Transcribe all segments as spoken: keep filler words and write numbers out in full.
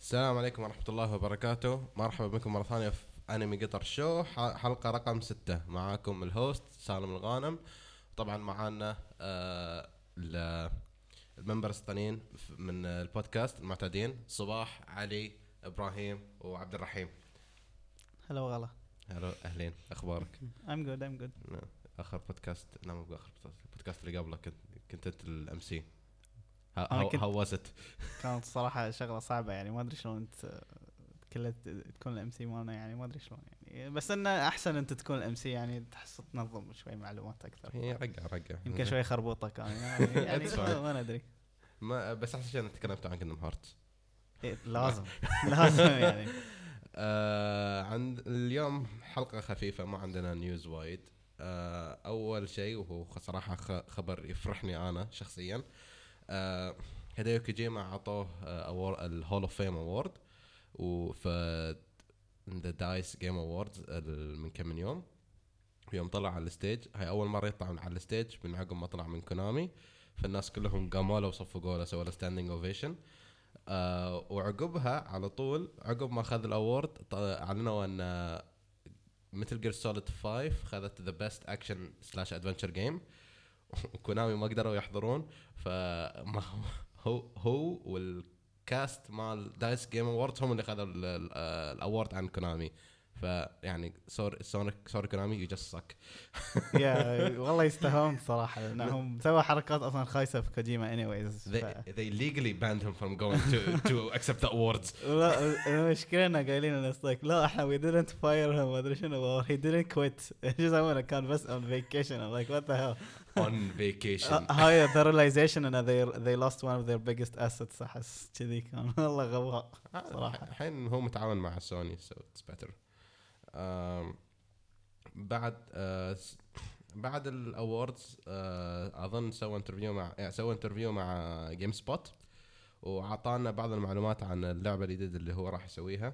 السلام عليكم ورحمة الله وبركاته. مرحبا بكم مرة ثانية في أنمي قطر شو، ح- حلقة رقم ستة. معاكم الهوست سالم الغانم. طبعا معانا آه ال- الممبرز الثانيين ف- من البودكاست المعتادين، صباح، علي، إبراهيم وعبد الرحيم. هلا وغلا. هلو، أهلين، أخبارك؟ I'm good I'm good. آخر بودكاست، لا مو بآخر بودكاست، البودكاست اللي قبله كنت كنت أنت الأم سي. أنا هاو كنت هاو واز إت؟ كانت صراحة شغلة صعبة، يعني ما أدري شلون أنت كلها تكون الام سي مالنا، يعني ما أدري شلون يعني، بس إنه أحسن أنت تكون الام سي، يعني تحس تنظم شوي معلومات أكثر. هي رقع رقع يمكن شوي خربوطة كان يعني, يعني It's fine. ما ما ندري. ما بس أحسن شيء أنا تكلمت عن كيندم هارت. إيه لازم لازم يعني. آه عند اليوم حلقة خفيفة، ما عندنا نيوز وايد. آه أول شيء، وهو صراحة خ- خبر يفرحني أنا شخصيا. آه هيديو كوجيما عطوه آه الهول اوف فيم اوورد، وفي ذا دايس جيم اووردز من كم من يوم. يوم طلع على الستيج، هاي أول مرة يطلع من على الستيج من عقب ما طلع من كونامي. فالناس كلهم قاموا له وصفقوا له، سووا له ستاندينج اوفيشن. آه وعقبها على طول، عقب ما اخذ الاورد، ط- اعلنوا ان مثل جير سوليد خمسة خذت ذا بيست اكشن سلاش ادفنتشر جيم. وكونامي ما قدروا يحضرون، فما هو هو والكاست مال دايس جيم اووردز هم اللي خذوا الاورد عن كونامي. فيعني سوري سونيك سوري كونامي، يو جاست سك. يا والله يستاهلون صراحة، لأنهم سووا حركات أصلا خايسة في كوجيما anyways. they ف... they legally banned him from going to to accept the awards. لا المشكلة إنه قايلين إنه like لا إحنا we didn't fire him ما أدري شنو, he didn't quit. إيش يسوونه, كان بس on vacation. I'm like what the hell. On vacation. هاي the realization إنه they they lost one of their biggest assets. أحس كذي كان والله غباء صراحة. الحين هو متعاون مع سوني so it's better. um, بعد uh, بعد الاووردز uh, اظن سوى انترفيو مع يعني سوى انترفيو مع جيم سبوت، وعطانا بعض المعلومات عن اللعبة الجديدة اللي هو راح يسويها.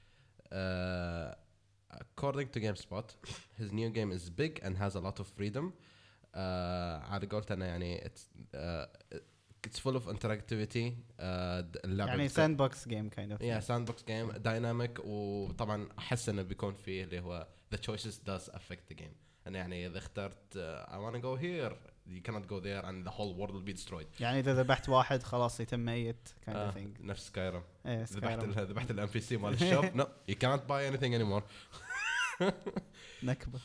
uh, according to GameSpot, his new game is big and has a lot of freedom. uh, على قولته أنا يعني it's, uh, it's full of interactivity. uh, اللعبة يعني بتكون- sandbox game kind of. yeah sandbox game dynamic. وطبعا احس انه بيكون فيه اللي هو the choices does affect the game. انا يعني اذا اخترت uh, I wanna go here, you cannot go there and the whole world will be destroyed. يعني إذا ذبحت واحد خلاص يتم ميت kind آه of thing. نفس سكايرم. إيه ذبحت Skyrim. ال- ذبحت الام بي سي مال الشوب no you can't buy anything anymore. نكبة.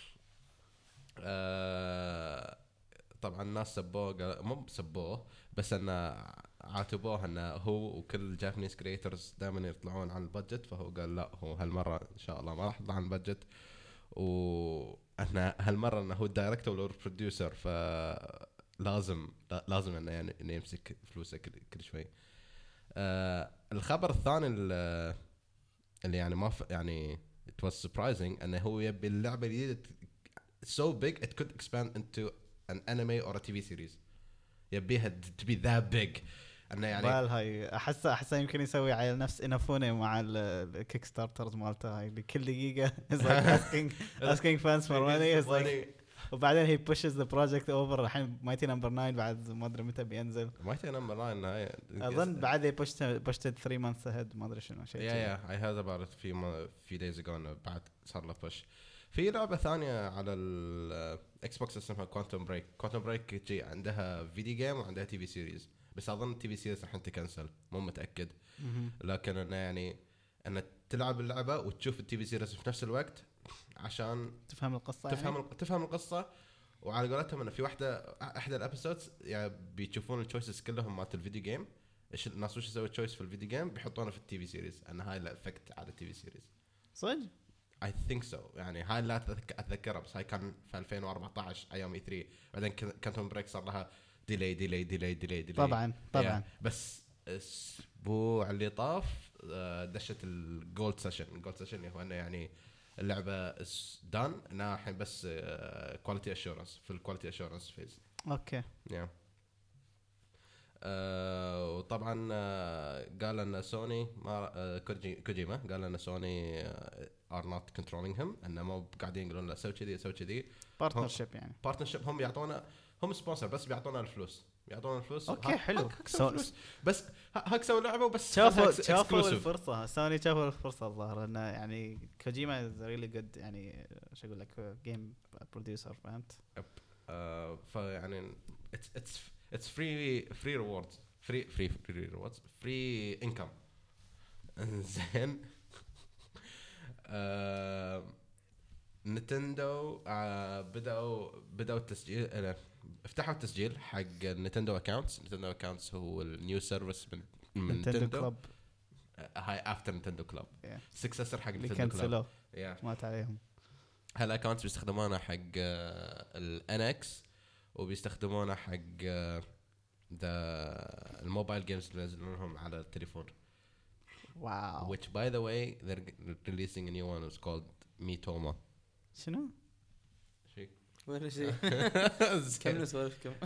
آه طبعا الناس سبوه، قال- مو سبوه بس انه عاتبوه انه هو وكل الجابانيز كريترز دائما يطلعون عن البادجت، فهو قال لا هو هالمره ان شاء الله ما راح يطلع عن البادجت. واحنا هالمره انه هو الدايركتور والبروديوسر، فلازم لازم انه يعني انه يمسك فلوسه كل, كل شوي. آه الخبر الثاني اللي اللي يعني ما ف... يعني it was surprising انه هو يبي اللعبه الجديده so big it could expand into an anime or a تي في series. يبيها to be that big انه يعني بال هاي احس احس يمكن يسوي على نفس انافوني مع الكيك ستارترز مالته هاي بكل دقيقه is like asking asking fans for money is like وبعدين he pushes the project over. الحين مايتي نمبر تسعة بعد ما ادري متى بينزل. مايتي نمبر تسعة هاي اظن بعد he pushed pushed it three months ahead ما ادري شنو شيء. yeah yeah I heard about it few few days ago انه بعد صار له push. في لعبه ثانيه على الاكس بوكس اسمها كوانتوم بريك. كوانتوم بريك جي عندها فيديو جيم وعندها تي في سيريز، بس اظن التي في سيريز راح تكنسل، مو متاكد. لكن انه يعني ان تلعب اللعبه وتشوف التي في سيريز في نفس الوقت عشان تفهم القصه تفهم يعني؟ ال- تفهم القصه. وعلى قولتهم انه في واحده احدى الابيسودز يعني بيشوفون التشويسز كلهم مالت الفيديو جيم، ايش الناس وش يسوي تشويس في الفيديو جيم بيحطونه في التي في سيريز، ان هاي الافكت على التي في سيريز. صدق؟ I think so. يعني هاي لا أتذك- اتذكرها، بس هاي كان في ألفين وأربعتاشر ايام اي ثري. بعدين كانتون بريك صار لها ديلي ديلي ديلي ديلي ديلي طبعا طبعا. yeah. بس الاسبوع اللي طاف آه، دشت الجولد سيشن. الجولد سيشن اللي هو انه يعني اللعبه دان انا الحين بس كواليتي اشورنس في الكواليتي اشورنس فيز. اوكي. yeah. آه وطبعا آه قال ان سوني ما آه كوجي كوجيما قال ان سوني آه are not controlling him، انه مو قاعدين يقولون له سوي كذي سوي كذي. بارتنرشيب يعني. بارتنرشيب، هم يعطونا هم سبونسر بس بيعطونا الفلوس. يعطونا الفلوس. أوكي، ها- حلو. هاك- هكسوا سو- فلوس بس ه- هكسوا لعبه وبس شافوا خلها شافوا exclusive. الفرصة، سوني شافوا الفرصة الظاهر انه يعني كوجيما از ريلي جود، يعني شو اقول لك جيم بروديوسر، فهمت؟ آه، فيعني it's it's it's free free rewards free free free rewards free income. زين. آه، نينتندو آه بدأوا بدأوا التسجيل آه، افتحوا التسجيل حق نينتندو اكاونتس. نينتندو اكاونتس هو النيو سيرفيس من من نينتندو نينتندو. كلوب آه، هاي افتر نينتندو كلوب Yeah. سكسسر حق اللي نينتندو كلوب. كنسلوه yeah. مات عليهم. هالاكونتس بيستخدمونه حق الان اكس وبيستخدمونه حق ذا الموبايل جيمز اللي ينزلونهم على التليفون. واو. which by the way they're releasing a new one. It's called Miitomo. شنو؟ شيء ولا شيء. كم نسولف كم.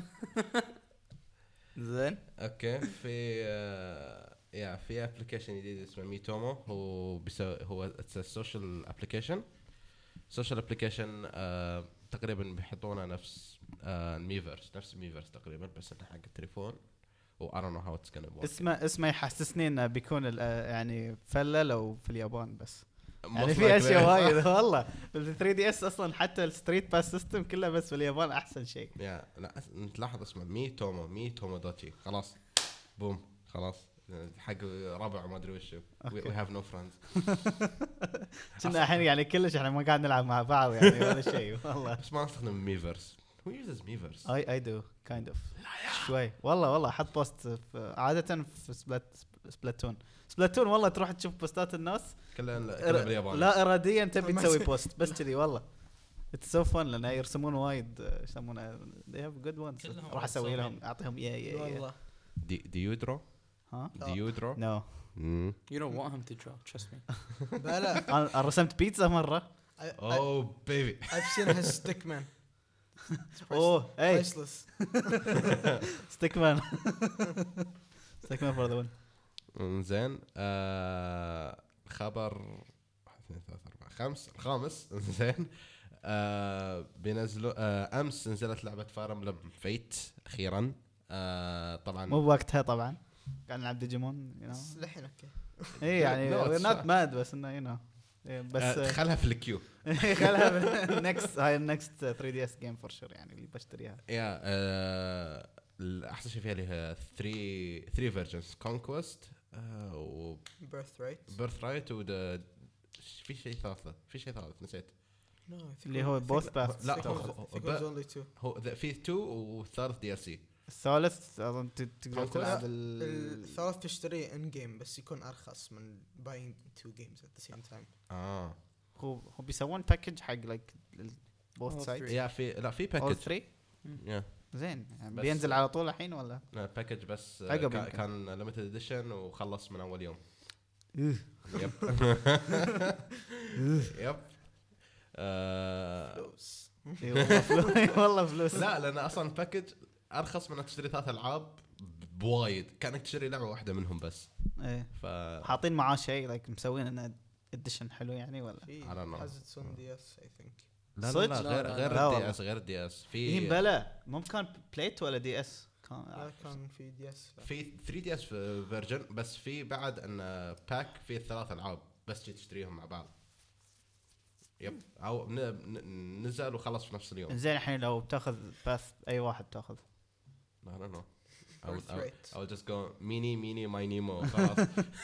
زين. اوكي. في آه، يا في ابلكيشن جديد اسمه ميتومو. هو بيسوي هو اتس سوشيال ابلكيشن. سوشيال ابلكيشن تقريبا بيحطونه نفس آه، الميفرس نفس الميفرس تقريبا بس انه حق التليفون. و I don't know how it's gonna work. اسمه اسمه يحسسني انه بيكون ال- آه، يعني فله لو في اليابان بس. يعني Most في اشياء likely. وايد والله. ال ثري دي اس اصلا حتى الستريت باس سيستم كله بس في اليابان احسن شيء. يا لا تلاحظ اسمه ميتومو ميتومو دوتشي. خلاص بوم خلاص حق ربع ما ادري وشو. we, we have no friends. كنا الحين يعني كلش احنا ما قاعد نلعب مع بعض يعني ولا شيء والله. بس ما نستخدم ميفرس. who uses ميفرس؟ اي اي دو كايند اوف شوي والله والله. حط بوست في عاده في سبلات سبلاتون سبلاتون والله تروح تشوف بوستات الناس كلها كلها بالياباني. لا اراديا تبي تسوي بوست بس كذي والله. اتس سو فن لان يرسمون وايد ايش يسمونه they have good ones. كلهم راح اسوي لهم رسامين. اعطيهم يا يا يا والله. دي ديودرو ها ديودرو. نو. You don't want him to draw. Trust me. بلا انا رسمت بيتزا مره. I, I, اوه بيبي. I've seen his stickman. اوه اي Priceless. ستيك مان ستيك مان فور ذا وين. زين. آه خبر واحد اثنين ثلاثة أربعة خمس الخامس. زين. آه بينزلوا آه امس نزلت لعبه فاير امبلم فيت اخيرا. آه طبعا مو بوقتها طبعا قاعد نلعب ديجيمون يو نو. بس للحين اوكي. اي يعني No, it's نوت fine. ماد بس انه يو نو بس آه خلها في الكيو. خلها نكست هاي النكست ثري دي اس جيم فور شور يعني اللي بشتريها. يا آه الاحسن شيء فيها اللي هي ثري ثري فيرجنز كونكوست و Birthright. بيرث رايت و في شيء ثالثه في شيء ثالث نسيت. No, I think اللي it- هو I think- both paths. لا، I think هو- it was- هو- I think it was only two. هو ذا- في تو والثالث دي ال سي. الثالث اظن ت- تقدر Conquest. تلعب ال الثالث تشتريه ان جيم بس يكون ارخص من buying two games at the same time. اه هو هو بيسوون باكج حق لايك بوث All سايدز يا في لا في اول باكج. ثري. يا زين يعني بس- بينزل على طول الحين ولا؟ باكج بس آه، عقب كا- يمكن. كان ليميتد اديشن وخلص من اول يوم. إيه. يب. يب. آه، فلوس. إي والله فلوس والله فلوس. لا لان اصلا باكج ارخص من انك تشتري ثلاث العاب بوايد. كانك تشتري لعبه واحده منهم بس. ايه ف حاطين معاه شيء لايك مسوين انه اديشن حلو يعني ولا؟ في I don't know. has its own دي اس I think. لا لا صدق؟ لا غير لا، غير لا الدي والله. اس غير الدي اس ايه في بلا مو كان بلايت ولا دي اس لا كان كان في دي اس. في ثري دي اس فيرجن بس في بعد ان باك فيه ثلاث العاب بس تجي تشتريهم مع بعض. يب او ن- ن- نزل وخلص في نفس اليوم. زين الحين لو بتاخذ باث اي واحد تاخذ. I don't know. I would, I would, Birthright. I would just go mini mini my Nemo خلاص.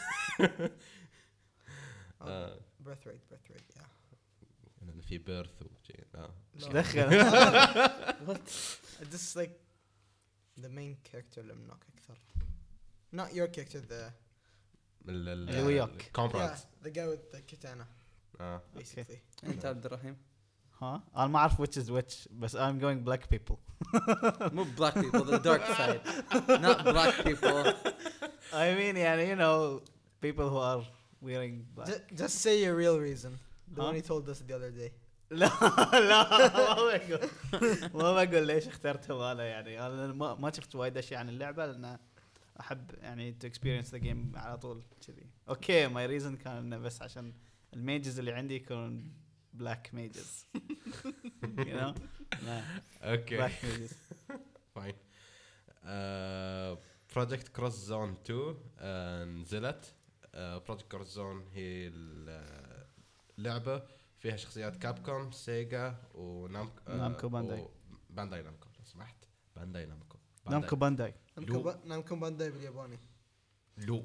Oh, آه، birthright birthright yeah. لأن في بيرث وشيء. لا ايش لا. دخل؟ This is like the main character اللي منك أكثر. Not your character the ال- ال- اللي وياك. comrades. yeah, the guy with the katana آه. basically. انت عبد الرحيم. ها انا ما اعرف which is which بس I'm going black people. مو black people, the dark side. Not black people. I mean يعني you know people who are wearing black. Ju- just say your real reason. The Huh? one you told us the other day. لا لا ما بقول ما بقول ليش اخترتهم انا يعني انا ما ما شفت وايد اشياء عن اللعبه لان احب يعني to experience the game على طول كذي. اوكي my reason كان انه بس عشان الميجز اللي عندي يكونون black mages. you know لا اوكي black mages. فاين. بروجكت كروس زون تو آه، نزلت. بروجكت كروس زون هي ال- اللعبة فيها شخصيات كابكوم، سيجا ونامكو آه، نامكو بانداي. بانداي نامكو لو سمحت. بانداي نامكو نامكو بانداي. نامكو با- نامكو بانداي بالياباني. لو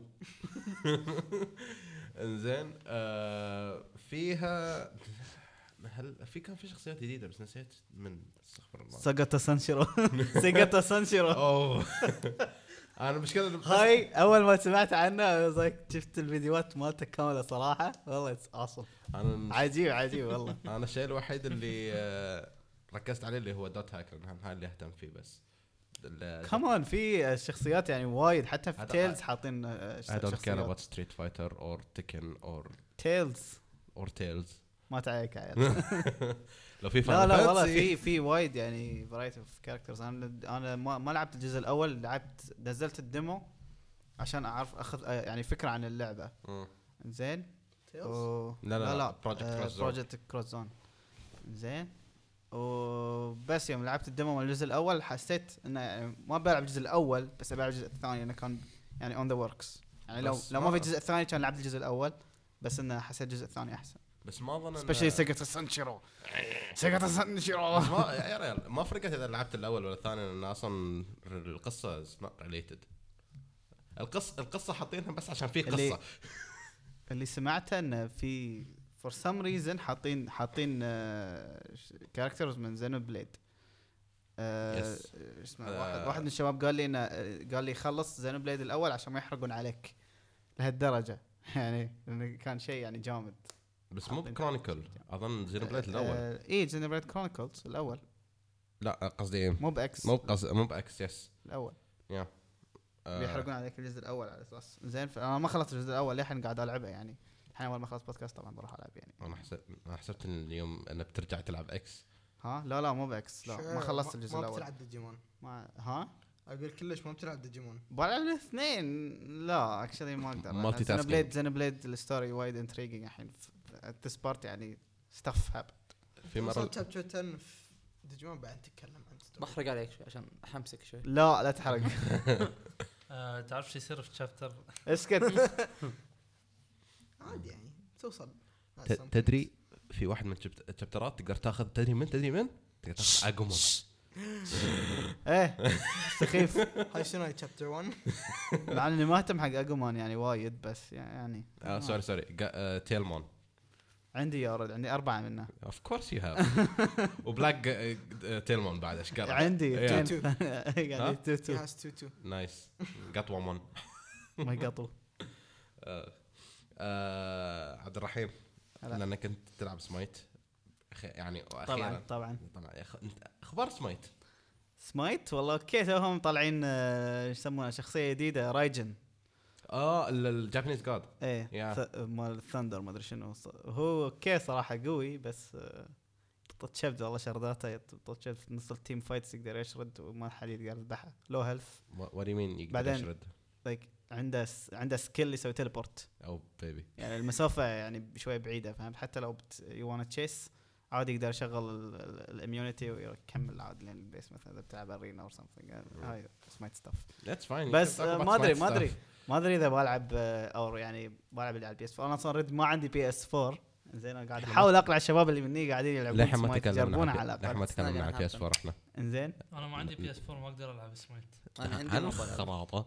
انزين آه فيها هل في كان في شخصيات جديدة بس نسيت من استغفر الله. ساغاتا سانشيرو. ساغاتا سانشيرو. اوه انا مشكلة هاي اول ما سمعت عنه زيك شفت الفيديوهات مالته كامله صراحه والله اتس awesome. انا عجيب عجيب والله. انا الشيء الوحيد اللي آه ركزت عليه اللي هو دوت هاكر، هاي اللي اهتم فيه بس. كمان في شخصيات يعني وايد حتى في هذا- تيلز حاطين I don't care about Street Fighter or Tekken or تيلز or Tales. ما تعيك عيل. لو في لا Final لا والله Fantasy. في في وايد يعني فرايتي اوف كاركترز. انا انا ما, ما لعبت الجزء الاول، لعبت نزلت الديمو عشان اعرف اخذ آه، يعني فكره عن اللعبه. مم. زين تيلز. و... لا لا لا Project Cross Zone. بروجكت كروس زون. زين وبس يوم لعبت الديمو من الجزء الاول حسيت انه يعني ما بلعب الجزء الاول بس ابي العب الجزء الثاني، انه كان يعني اون ذا وركس. يعني لو بس لو ما ما- في الجزء الثاني كان لعبت الجزء الاول، بس انه حسيت الجزء الثاني احسن. بس ما اظن سبيشلي سيجاتا سانشيرو. سيجاتا سانشيرو. بس ما يا ريال ما فرقت اذا لعبت الاول ولا الثاني، لان اصلا القصه is not related. القصه القصه حاطينها بس عشان في اللي- قصه. اللي سمعته انه في فور سم ريزن حاطين حاطين كاركترز من زينو بليد. آه، Yes. اسمه آه. واحد واحد من الشباب قال لي انه آه، قال لي خلص زينو بليد الاول عشان ما يحرقون عليك لهالدرجه. يعني لأنه كان شيء يعني جامد. بس مو حاطين بكرونيكل اظن زينوبليد الاول. آه، اي زينو بليد كرونيكلز الاول لا قصدي مو باكس. مو بقص مو باكس يس الاول يا آه، بيحرقون عليك الجزء الاول على اساس زين. انا ما خلصت الجزء الاول للحين قاعد العبه يعني. الحين اول ما خلص بودكاست طبعا بروح العب يعني. انا حسبت انا حسبت إن اليوم انك بترجع تلعب اكس. ها لا لا مو باكس، لا ما خلصت الجزء ما الاول. بتلعب ديجيمون. ما ها اقول كلش ما بتلعب ديجيمون. بلعب الاثنين. لا اكشلي ما اقدر. Multitasking. زين بليد زين بليد الستوري وايد انتريجنج الحين. ذس بارت يعني ستاف هاب. في مره وصلت شابتر عشرة في ديجيمون بعد تتكلم عن ستوري. بحرق عليك شوي عشان احمسك شوي. لا لا تحرق. آه، تعرف شو يصير في شابتر؟ اسكت. عادي يعني توصل. ت- تدري في واحد من الشابترات تقدر تاخذ تدري من تدري من تقدر تاخذ اجومون. ايه سخيف. هاي شنو شابتر واحد؟ مع اني ما اهتم حق اجومان يعني وايد بس يعني آه سوري سوري تيلمون. عندي يا ولد عندي اربعه منه. اوف كورس يو هاف. وبلاك تيلمون بعد ايش قال عندي Yeah. اثنين. ها؟ يعني تو تو ياس تو تو. نايس جات وان. ما يقطوا. عبد الرحيم هلا. لانك كنت تلعب سمايت أخي- يعني طبعا اخيرا طبعا طبعا يا أخ- انت اخبار سمايت. سمايت والله اوكي توهم طالعين آه، ايش يسمونه شخصيه جديده رايجن. اه الجابانيز جاد. ايه Yeah. ث- مال ثاندر ما ادري شنو ص- هو اوكي صراحه قوي بس آه، طط شبد والله شرداته طط شبد في نص التيم فايتس يقدر يشرد وما حد يقدر يذبحه لو هيلث. وات مين يقدر بعدين- يشرد لايك عنده س... عنده سكيل يسوي تيليبورت او بيبي. يعني المسافه يعني شوي بعيده فهمت. حتى لو يو وانا تشيس عادي يقدر يشغل الاميونيتي ويكمل عادي لين البيس مثلا اذا بتلعب ارينا اور سمثينج. هاي سمايت ستاف ذاتس فاين. بس آه، ما ادري ما ادري ما ادري اذا بلعب آه، او يعني بلعب اللي على البي اس أربعة. انا اصلا رد ما عندي بي اس أربعة. زين انا قاعد احاول اقنع الشباب اللي مني قاعدين يلعبون لحين ما سمايت تكلمنا يجربونها عن- على لحين ما الاقل. تكلمنا عن بي اس أربعة احنا انزين انا ما عندي بي اس أربعة ما اقدر العب سمايت. انا عندي عن موبايل. خراطه.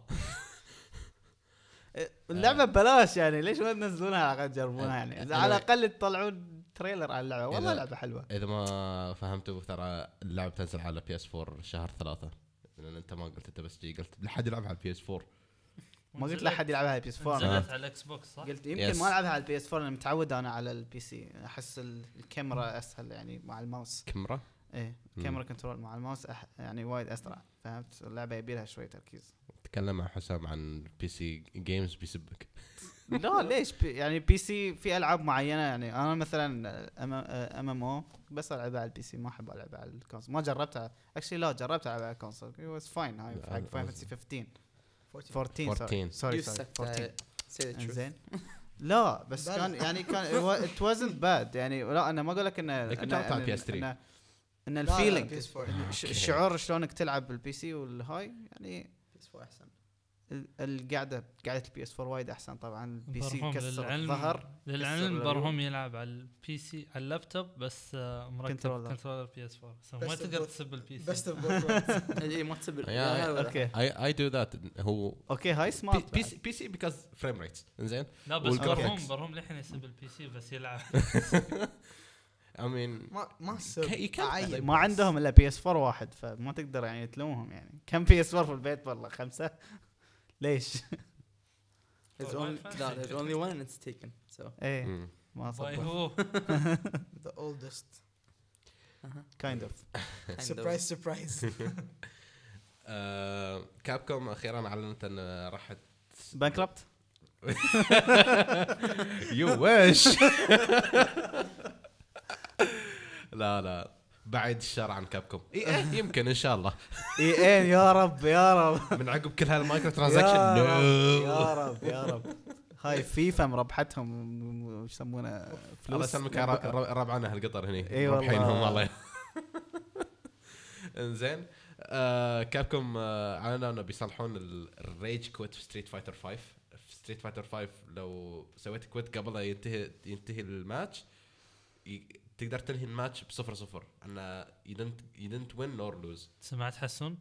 اللعبه ببلاش يعني ليش ما تنزلونها على الاقل تجربونها يعني إذا أنا- على الاقل تطلعون تريلر على اللعبه والله إذا- لعبه حلوه. اذا ما فهمتوا ترى اللعبه تنزل على بي اس أربعة شهر ثلاثة. لان انت ما قلت انت بس جي قلت لحد يلعب على البي اس أربعة. ما قلت لا حد يلعبها على البي اس أربعة. نزلت على الاكس بوكس صح؟ قلت يمكن Yes. ما العبها على البي اس أربعة لان متعود انا على البي سي. احس ال- الكاميرا اسهل يعني مع الماوس. كاميرا. ايه مم. كاميرا كنترول مع الماوس أح يعني وايد اسرع فهمت. اللعبه يبي لها شوي تركيز. تكلم مع حسام عن بي سي جيمز بيسبك. لا ليش بي يعني بي سي في العاب معينه يعني انا مثلا ام ام او بس العبها على البي سي ما احب العبها على الكونسول. ما جربتها اكشلي لا جربت العبها على الكونسول واز فاين. هاي لا، حق أنا- فاين فانتسي خمستاشر أربعتاشر. أربعتاشر سوري You سوري sucked أربعتاشر at- say the truth. زين. لا بس بلى. كان يعني كان ات وازنت باد يعني. لا انا ما اقول لك انه لكن إنه- جربت على إنه- بي إس ثري. إنه- ان لا، لا، الفيلينج بي إس فور. الشعور شلونك تلعب بالبي سي والهاي يعني بي إس فور احسن. ال- القعده قعده البي اس فور وايد احسن طبعا. البي سي برهم كسر للعلم ظهر للعلم كسر برهم العيون. يلعب على البي سي على اللابتوب بس آه، مركب كنترولر. كنترولر بي اس فور Best ما of تقدر both- تسب البي بيست سي اوف بوث اي ما تسب يا- اوكي I I do that هو اوكي هاي سمارت بي سي بي سي because frame rates انزين. لا بس والجرافيكس. برهم برهم للحين يسب البي سي بس يلعب I mean ما ما Can- سب you can't أعيد ما بس. عندهم الا بي اس فور واحد فما تقدر يعني تلومهم يعني. كم بي اس فور في البيت والله خمسة ليش؟ There's Oh, only fancy. no, there's only one and it's taken. So ايه مم. ما باي صبر هو the oldest كايند اوف kind of. surprise surprise آه، كابكوم اخيرا اعلنت ان راح بانكربت يو ويش. لا لا بعد الشر عن كابكوم إيه يمكن ان شاء الله اي ان يا رب يا رب من عقب كل هالمايكرو يا ترانزاكشن رب نو. يا رب يا رب. هاي فيفا مربحتهم وش يسمونه الله فلوس يسلمك من بكرة. ربعنا هالقطر هني إي والله. رابحينهم والله. انزين آه كابكوم آه اعلنوا انه بيصلحون الريج كويت في ستريت فايتر خمسة. في ستريت فايتر خمسة لو سويت كويت قبل لا ينتهي ينتهي الماتش ي- تقدر تنهي الماتش بصفر صفر. انه you didn't you didn't win nor lose. سمعت حسون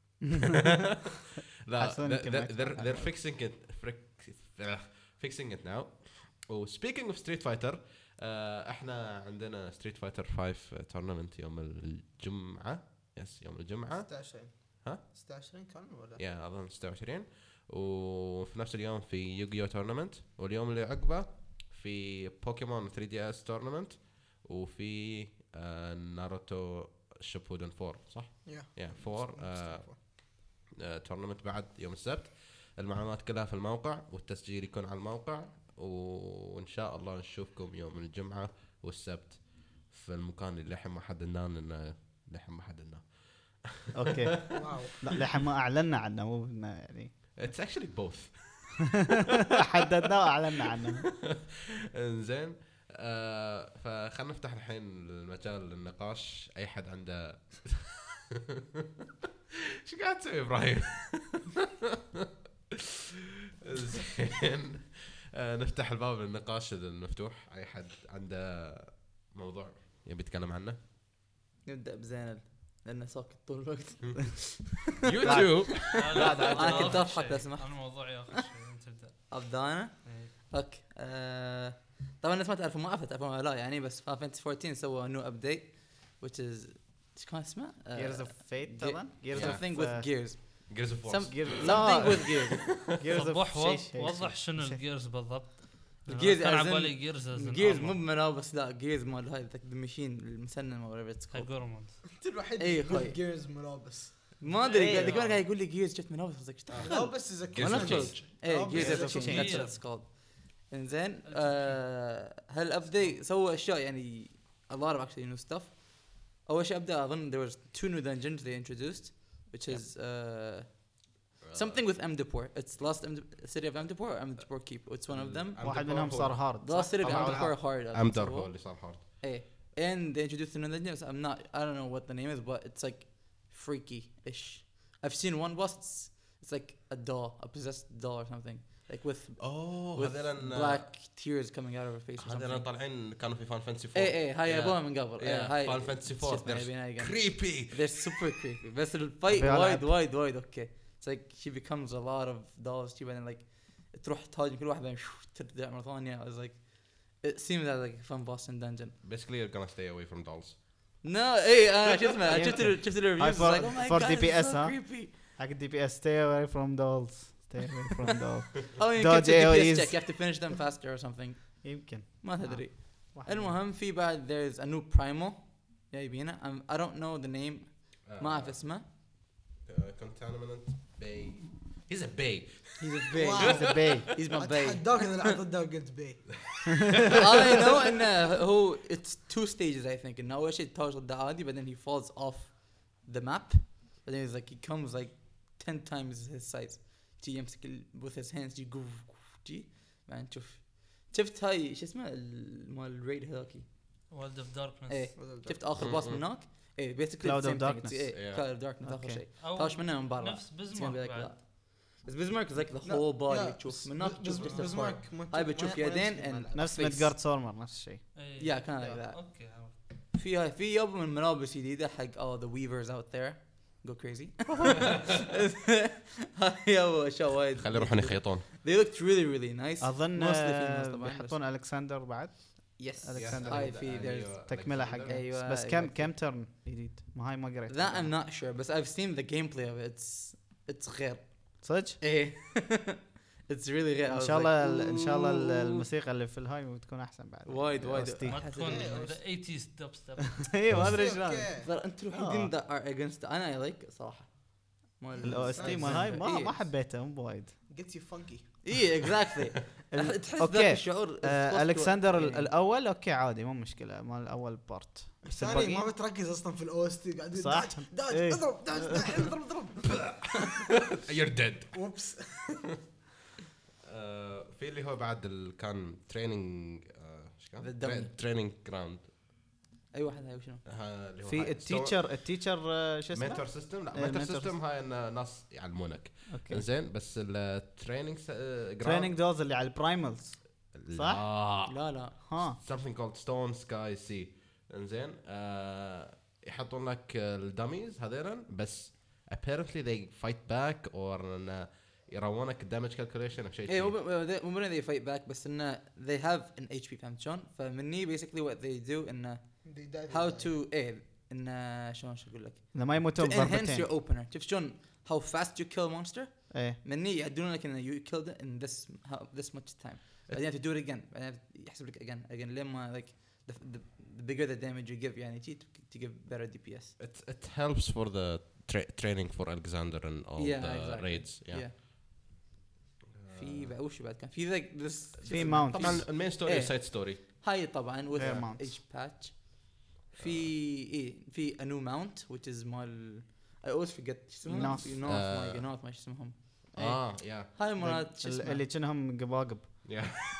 لا حسون they're, يمكن ما they're, يسمع they're, they're fixing it frick- uh, fixing it now. و speaking of Street Fighter آه احنا عندنا Street Fighter خمسة tournament يوم الجمعة. يس يوم الجمعة. ستة وعشرين ها؟ ستة وعشرين كان ولا يا اظن ستة وعشرين. وفي نفس اليوم في يوغيو تورنمنت. واليوم اللي عقبه في بوكيمون ثري دي اس تورنمنت. وفي آه ناروتو شيبودن فور صح؟ يا يا فور تورنمنت بعد يوم السبت. المعلومات كلها في الموقع والتسجيل يكون على الموقع. وان شاء الله نشوفكم يوم الجمعة والسبت في المكان اللي الحين ما حددناه لانه الحين ما حددناه. اوكي واو لا لحين ما اعلنا عنه مو إنه يعني It's actually both. حددناه واعلنا عنه. انزين آه فخلنا نفتح الحين المجال للنقاش. اي حد عنده شو قاعد تسوي ابراهيم؟ زين آه نفتح الباب للنقاش المفتوح. اي حد عنده موضوع يبي يتكلم عنه. نبدأ بزينل لأنه ساكت طول الوقت. يوتيوب. لا أنا كنت أضحك لو سمحت. انا موضوعي ياخذ شيء انت تبدا أبدأ أنا. إيه. اوكي آه طبعا الناس ما تعرفوا ما عرفت تعرفون ولا لا يعني بس في فانتسي فورتين سووا نيو ابديت which is ايش كان اسمه؟ جيرز اوف فيت طبعا جيرز something with gears جيرز اوف Some- وورز. something with gears جيرز صبح وض- وضح شنو الجيرز بالضبط. الجيرز كان as على in- بالي جيرز gears مو بملابس لا gears مال هاي ذاك المشين المسنن ولا whatever it's called جورموند انت الوحيد إيه، اللي خوي. جيرز ملابس ما ادري إيه. قاعد قاعد قاعد يقول لي gears شفت ملابس قصدك شفت ملابس از Gears ولا of خلص. Change. ايه Oh, gears Gears of of change that's Change. what it's called انزين آه هالابديت سوى اشياء يعني a lot of actually new stuff. اول شيء ابدا اظن there was two new dungeons they introduced which is uh, something with Amdapor. It's Lost Amd- City of Amdapor or Amdapor Keep. It's one of them. واحد منهم صار هارد The Lost City of طبعاً. Amdapor hard. امدر هو اللي صار هارد. ايه and they introduced another dungeon. I'm not I don't know what the name is but it's like freaky-ish. I've seen one boss it's, it's like a doll a possessed doll or something like with اوه with هذول black tears coming out of her face or هذول something. طالعين كانوا في فان فانتسي فور. ايه ايه هاي يبوها من قبل. ايه هاي فان فانتسي فور. كريبي. They're super creepy. بس الفايت في وايد ألعاب. وايد وايد اوكي. It's like she becomes a lot of dolls. She بعدين like تروح تهاجم كل واحد بعدين شو ترجع مرة ثانية. I was like it seems like a fun boss in dungeon. Basically you're gonna stay away from dolls. No ايه انا شفت ما شفت ال- شفت الريفيوز هاي like for- oh my for god D P S it's so ها؟ creepy. حق الدي بي اس stay away from dolls stay away from dolls. Oh you Dodge get to A O D P S Es. check you have to finish them faster or something. يمكن ما تدري. واحد المهم في بعد there's a new primal جايبينه. I'm- I don't know the name ما أعرف اسمه. Contaminant Bay. He's a bay. He's a bay. Wow. He's a bay. He's my bay. اتحداك اذا لعبت ضده وقلت بي I know انه هو it's two stages I think انه اول شيء تهاوش ضده عادي بعدين he falls off the map بعدين he's like he comes like ten times his size تي يمسك ال- with his hands يقو جي بعدين تشوف شفت هاي شو اسمه ال- مال الريد هاكي وولد اوف داركنس ايه شفت اخر باص من هناك ايه بيسكلي Cloud of Darkness. ايه Yeah. كلاود اوف داركنس اخر أوكي. شيء أو طاش منه من برا نفس It's gonna be بزمارك like بعد. that. بس بزمارك is like the لا، whole body لا، تشوف بس- من هناك بس- تشوف بس- just a بزمارك part. ما هاي تشوف- بتشوف ما- ما يدين يمشي and الملعب. نفس face. ميدجارد سورمر نفس الشيء. إيه. Yeah kind of like that. اوكي عرفت. في هاي في يوم من ملابس جديدة حق all the weavers out there go crazy. هاي أول أشياء وايد. خلي يروحون يخيطون. They looked really really nice. اظن Mostly آه، females طبعاً، بيحطون الكسندر بعد بس- Yes. ألكسندر. هاي في there's تكمله حق أيوة، بس أيوة. كم كم ترن جديد ما هاي ما قريت that I'm not sure but I've seen the gameplay of it. It's it's غير. صدق إيه. It's really غير. I ان was شاء like, الله ال- ان شاء الله ال- "Ooh." الموسيقى اللي في الهاي تكون احسن بعد وايد وايد. أوستي. ما تكون إيه، ذا ثمانينز دب ستيب. اي ما ادري أوكي. شلون ترى انتوا الوحيدين that are against انا I like صراحة. الاو اس تي مال هاي ما ما حبيته مو بوايد Gets you funky. ايه exactly. ال- تحس أوكي. ذاك الشعور. آه، الكسندر ال- إيه. الاول اوكي عادي مو مشكله مال الاول بارت بس الثاني الباقي ما بتركز اصلا في الاو اس تي قاعد صح. داج داج إيه. اضرب داج داج، اضرب اضرب You're dead. وبس. آه، في اللي هو بعد ال- كان تريننج ايش The كان؟ dummy. تريننج جراوند. اي واحد هاي وشنو؟ في التيتشر التيتشر آه، شو اسمه مينتور سيستم. لا إيه، مينتور mentor سيستم هاي إن ناس يعلمونك. اوكي زين بس التريننج تريننج دولز اللي على البرايمالز صح؟ لا لا. ها something called stone sky sea. انزين آه يحطون لك الدميز هذين بس apparently they fight back or إن يراونك damage calculation او شيء ايه شي. مو مو they fight back بس انه they have an H P فهمت شلون؟ فمني basically what they do انه how to ايه انه شلون شو اقول لك؟ اذا ما to يموتون enhance your بضربتين opener. شوف شلون how fast you kill a monster. ايه مني يعدلون لك انه you killed it in this how, this much time. بعدين to do it again. بعدين يحسب لك again again لما like the, the, the bigger the damage you give يعني to, to give better D P S. it it helps for the tra- training for Alexander and all Yeah, the exactly. raids. Yeah. Yeah. في بعد وش بعد كان في like this في mount. طبعا المين ستوري إيه. والسايد ستوري. هاي طبعا with Rare mounts. each patch. في ايه في a new mount which is مال I always forget شو اسمهم؟ North. في North آه. ما North ما شو اسمهم؟ اه يا هاي مرات شو ال- اسمه؟ اللي كأنهم قباقب يا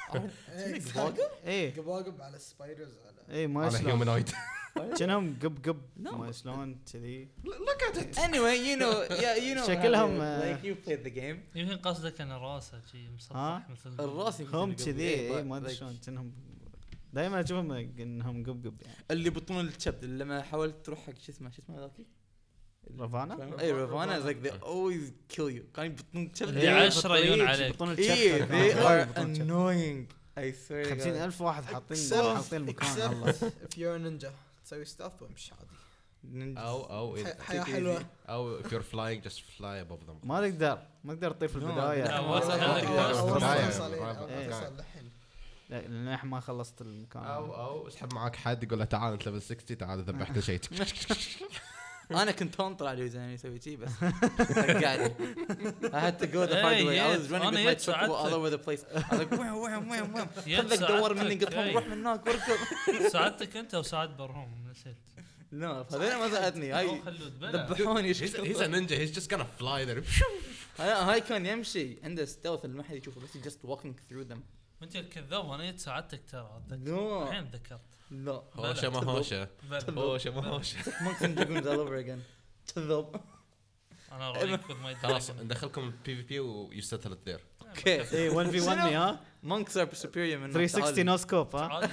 ايه قباقب على السبايدرز على ايه ما على شلون هيومنويد. كأنهم قب قب No. ما شلون كذي Look at it. anyway you know yeah you know شكلهم، how آه. like you played the game. يمكن قصدك ان راسه شي ها؟ مسطح مثل الراس يمكن هم قبل. كذي إيه، ايه but ما ادري like شلون كأنهم دائما اشوفهم انهم قب قب يعني اللي بطون الكبد لما حاولت تروح حق شو اسمه شو اسمه ذاكي؟ رافانا؟ اي رافانا like they always kill you كان بطون الكبد اللي عشرة يون عليك. بطون ايه الشبكة they are بطون الشبكة. annoying I swear to خمسين God. ألف واحد حاطين Except- حاطين المكان الله if you're a ninja تسوي ستاف وامشي عادي. Ninjas. او او ح- إذا- حياة حلوة. او if you're flying just fly above them. ما تقدر ما تقدر تطير في No, البداية لا، والله وصل والله عندك والله بس. والله بداية. أوصل إيه، برافو. أوصل للحين. لا، لان احنا ما خلصت المكان او او اسحب معاك حد يقول له تعال انت ليفل ستين تعال ذبح كل شيء. انا كنت انطر عليه زين يسوي شيء بس رجعني. I had to go the hard Hey, way. I was yes, running أنا with my يد truck all ساعدتك. over the place. I was like وين وين وين وين. يد خلك دور مني ساعدتك، قلت لهم hey. روح من هناك واركض. ساعدتك انت وساعد برهوم نسيت. لا هذول ما ساعدني أو هاي خلود بلا. ذبحوني. he's, he's a ninja. He's just gonna fly there. هاي هاي كان يمشي عنده ستيلث اللي ما حد يشوفه بس just walking through them. وانت الكذاب انا يد ساعدتك ترى أتذكر. No. الحين ذكرت. لا. هوشه ما هوشه. بلا. هوشه ما هوشه. Monks and dragoons all over again. كذاب. انا رايك with my خلاص dragon. ندخلكم بي في بي و you settle it there. كيف؟ ايه واحد في واحد مي ها Monks are superior من ثلاثمية وستين نو سكوب ها عادي.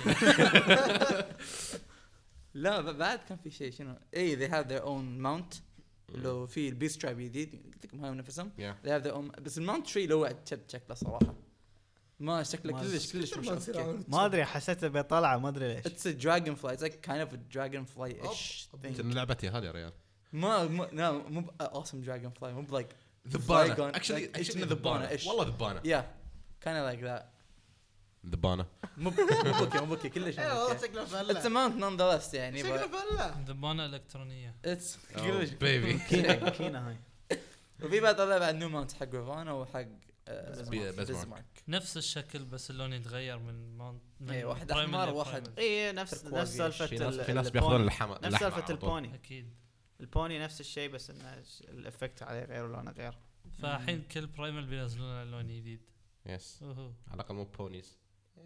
لا ب- بعد كان في شيء شنو؟ اي they have their own mount. لو في البيست ترايب جديد قلت لكم هاي نفسهم. Yeah. they have their own بس الماونت تري لو وعد شب شكله صراحه ما شكله ما كلش كلش مش ما تصير اوكي. عامل ما ادري حسيته بيطلع ما ادري ليش It's a dragonfly. It's like kind of a dragonfly-ish أوب. thing. كنا لعبتي هذه يا ريال. ما ما no مو ب- awesome dragonfly مو ب like ذبانة. Flygon. Actually Like, actually إنه ذبانة. ذبانة-ish. والله ذبانة. yeah kind of like that. ذبانة. مو ب- مو بوكي مو بوكي كلش مو ايه والله بوكي. شكله It's a فله. mount nonetheless يعني شكله but فله. ذبانة الكترونية. it's Oh كلش. baby. كينا كينا هاي وفي بعد طلع بعد نيو ماونت حق رافانا وحق بزمارك. بزمارك. نفس الشكل بس اللون يتغير من ماونت. إيه، واحد أحمر، واحد- ايه نفس Turquoise. نفس سالفه في ناس ال- في ناس البوني. بياخذون اللحمة. نفس اللحمة سالفه على طول. البوني اكيد. البوني نفس الشيء بس انه ش- الافكت عليه غير ولونه غير فالحين كل برايمال بينزلون لون جديد. Yes. اوهو. على الأقل مو بونيز.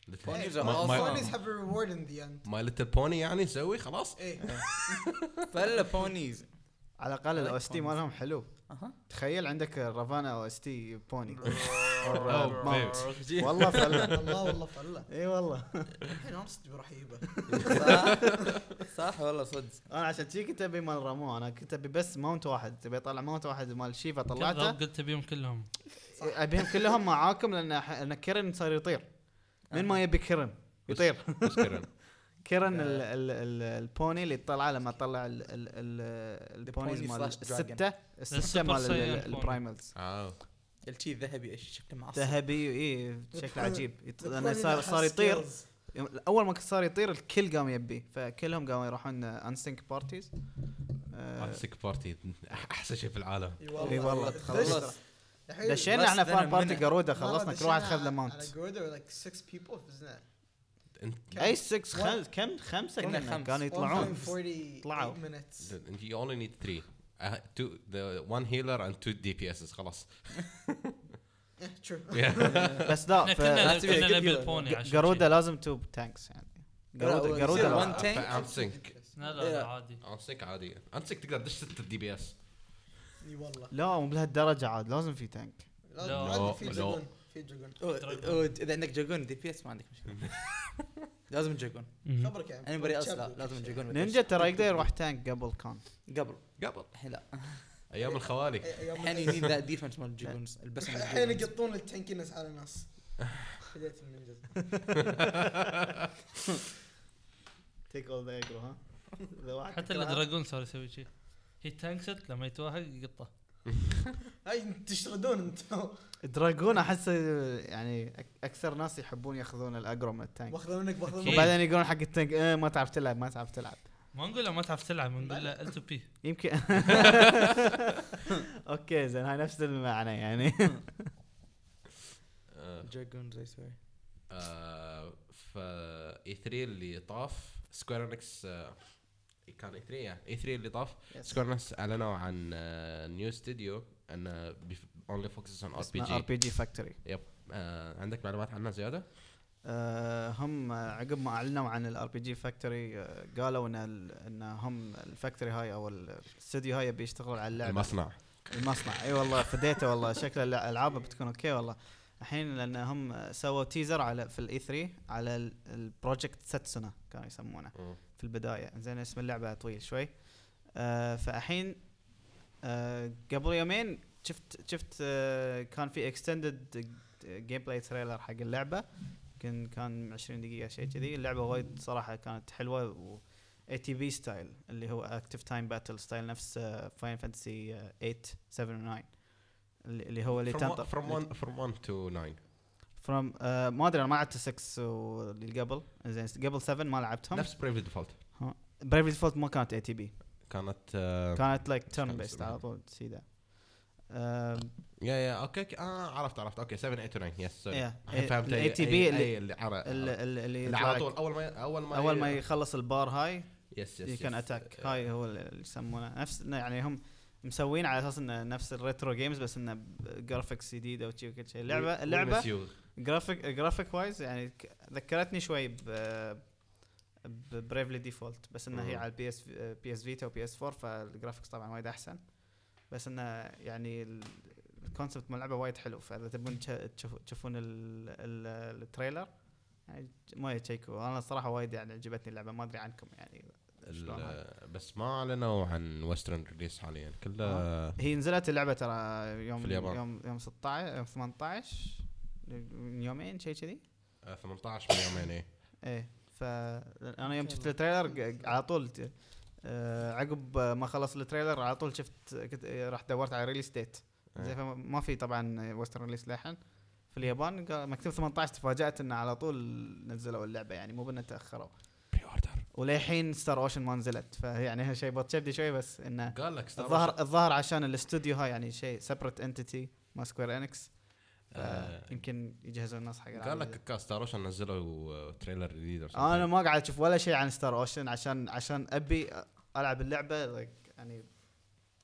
Ponies are ما- awesome. ما- Ponies have a reward in the end. ماي ليتل بوني يعني نسوي خلاص. ايه فلا بونيز. على الاقل I like الاو اس تي ponies. مالهم حلو. اها. تخيل عندك رافانا او اس تي بوني. أوه، ماونت. والله فله. والله والله فله. اي والله. الحين انا صدق بروح اجيبه. صح صح والله صدق. انا عشان شي كنت ابي مال رامو، انا كنت ابي بس ماونت واحد، تبي اطلع ماونت واحد مال شيفا طلعته. بالضبط قلت بيهم كلهم. ابيهم كلهم معاكم لان ح- لان كيرن صار يطير. من ما يبي كيرن يطير. مشكلة. كيرن ال ال ال البوني اللي طلع لما طلع ال ال ال البونيز pony مال slash dragon. الستة الستة السوبر مال سايان بوني. البرايمالز. اه الشي الذهبي ايش شكله معصب. ذهبي اي شكله عجيب يط- The لانه pony صار that صار has يطير. skills. يوم- اول ما صار يطير الكل قام يبي، فكلهم قاموا يروحون انسينك بارتيز. امسك بارتي احسن شيء في العالم. اي والله خلص. الحين دشينا less احنا than فان a بارتي minute. قروده، مرة خلصنا كل دشينا واحد خذ له على ماونت. Garuda were like six people فزنا. انت اي ستة خل... كم خمسه كنا كنا خمس. كانوا يطلعون. forty-eight طلعوا. minutes. you only need three. Uh, two, the one healer and two D P S's خلاص. Yeah, true. بس لا احنا ف- كنا لازم كنا يبقى نبي كذا. البوني عشان قروده شي. لازم تو تانكس يعني. قروده لا، قروده يصير لا. one tank. انسينك لا لا لا إيه. عادي. انسينك عادي. انسينك تقدر تدش ستة دي بي اس. اي والله. لا مو بهالدرجه عاد، لازم في تانك. لازم لا. لازم في لا. جاجون في جاجون. أو- أو- اذا عندك جاجون دي بي اس ما عندك مشكله. لازم جاجون. مهم. خبرك يعني. اني بري لا لازم جاجون. نينجا ترى يقدر يروح تانك قبل كان. قبل قبل الحين لا. ايام الخوالي. الحين ينيد ذا ديفنس مال الجاجونز البس الحين يقطون التنكينس على الناس. بديت النينجز. تيك اول ذا اجرو ها. إذا واحد حتى تكرهها- الدراجون صار يسوي شيء. هي تانكست لما يتوهق يقطه. هاي تشتغلون انتم. دراجون احس يعني أك- اكثر ناس يحبون ياخذون الاجرو من التانك، باخذ منك باخذ أكيد. منك. وبعدين يقولون حق التانك إيه ما تعرف تلعب ما تعرف تلعب. ما نقول له ما تعرف تلعب، نقول له ال تو بي. يمكن اوكي زين هاي نفس المعنى يعني. جاجونز اي سوري. ف اي ثري اللي طاف سكوير انكس كان اي ثري اي ثري اللي طاف سكوير انكس اعلنوا عن نيو استوديو انه اونلي فوكسز اون ار بي ار جي. بي جي فاكتوري. عندك معلومات عنها زياده؟ آه، هم عقب ما اعلنوا عن الار بي جي فاكتوري قالوا ان ال- ان هم الفاكتوري هاي او الاستوديو هاي بيشتغلون على اللعبه. المصنع. المصنع اي والله فديته والله شكل الالعاب بتكون اوكي والله. الحين لان هم سووا تيزر على في الاي ثري على البروجكت ساتسونا كانوا يسمونه في البدايه. زين اسم اللعبه طويل شوي. آه فالحين آه قبل يومين شفت شفت آه كان في اكستندد جيم بلاي تريلر حق اللعبه. يمكن كان عشرين دقيقه شيء كذي. اللعبه وايد صراحه كانت حلوه و اي تي في ستايل اللي هو اكتف تايم باتل ستايل نفس فاين فانتسي ثمانية سبعة و تسعة اللي اللي هو اللي from, تنطر one, from one from one to nine. فروم آه ما ادري انا ما لعبت ستة واللي قبل. زين قبل سبعة ما لعبتهم. نفس بريف ديفولت. بريف ديفولت ما كانت اي تي بي، كانت آه كانت لايك كان تيرن بيست اسمها؟ على طول سيدا. آه يا يا اوكي اوكي اه عرفت عرفت اوكي سبعة ثمانية تسعة يس سوري. يا الحين فهمت الاي أي- تي أي- بي أي اللي اللي عر- اللي اللي اللي على طول اول ما اول ما اول ما يخلص البار هاي يس يس يمكن اتاك. هاي هو اللي يسمونه نفس يعني هم مسوين على اساس انه نفس الريترو جيمز بس انه جرافيكس جديده وشي وكل شيء. اللعبه اللعبه جرافيك جرافيك وايز يعني ك- ذكرتني شوي ب ببريفلي ديفولت بس انها هي مم. على البي اس بي اس فيتا وبي اس فور فالجرافيكس طبعا وايد احسن. بس انه يعني ال- الكونسبت مال اللعبه وايد حلو. فاذا تبون تش- تشوف- تشوفون ال- ال- التريلر يعني ما يتشيكوا. انا الصراحه وايد يعني عجبتني اللعبه. ما ادري عنكم يعني شلون هاي. ال- بس ما اعلنوا عن ويسترن ريليس حاليا كله. آه. هي نزلت اللعبه ترى يوم في اليابان. يوم يوم ستة عشر يوم ثمانية عشر من يومين شيء كذي. آه، ثمانية عشر من يومين ايه. ايه فانا يوم شفت التريلر ق- على طول ت- آه عقب ما خلص التريلر على طول شفت كنت آه، رحت دورت على ريليس ديت. زي فما- ما في طبعا ويسترن ريليس للحين في اليابان. قال- مكتوب ثمانية عشر. تفاجأت انه على طول نزلوا اللعبه يعني مو بانه تاخروا. بري اوردر. وللحين ستار اوشن ما نزلت فيعني شيء بتشبدي شوي بس انه قال لك ستار الظاهر الظاهر عشان الاستوديو هاي يعني شيء سيبريت انتيتي ما سكوير انكس. آه. يمكن يجهزون الناس حق قال لك كاس ستار اوشن نزلوا تريلر جديد or something. انا ما قاعد اشوف ولا شيء عن ستار اوشن عشان عشان ابي العب اللعبه like يعني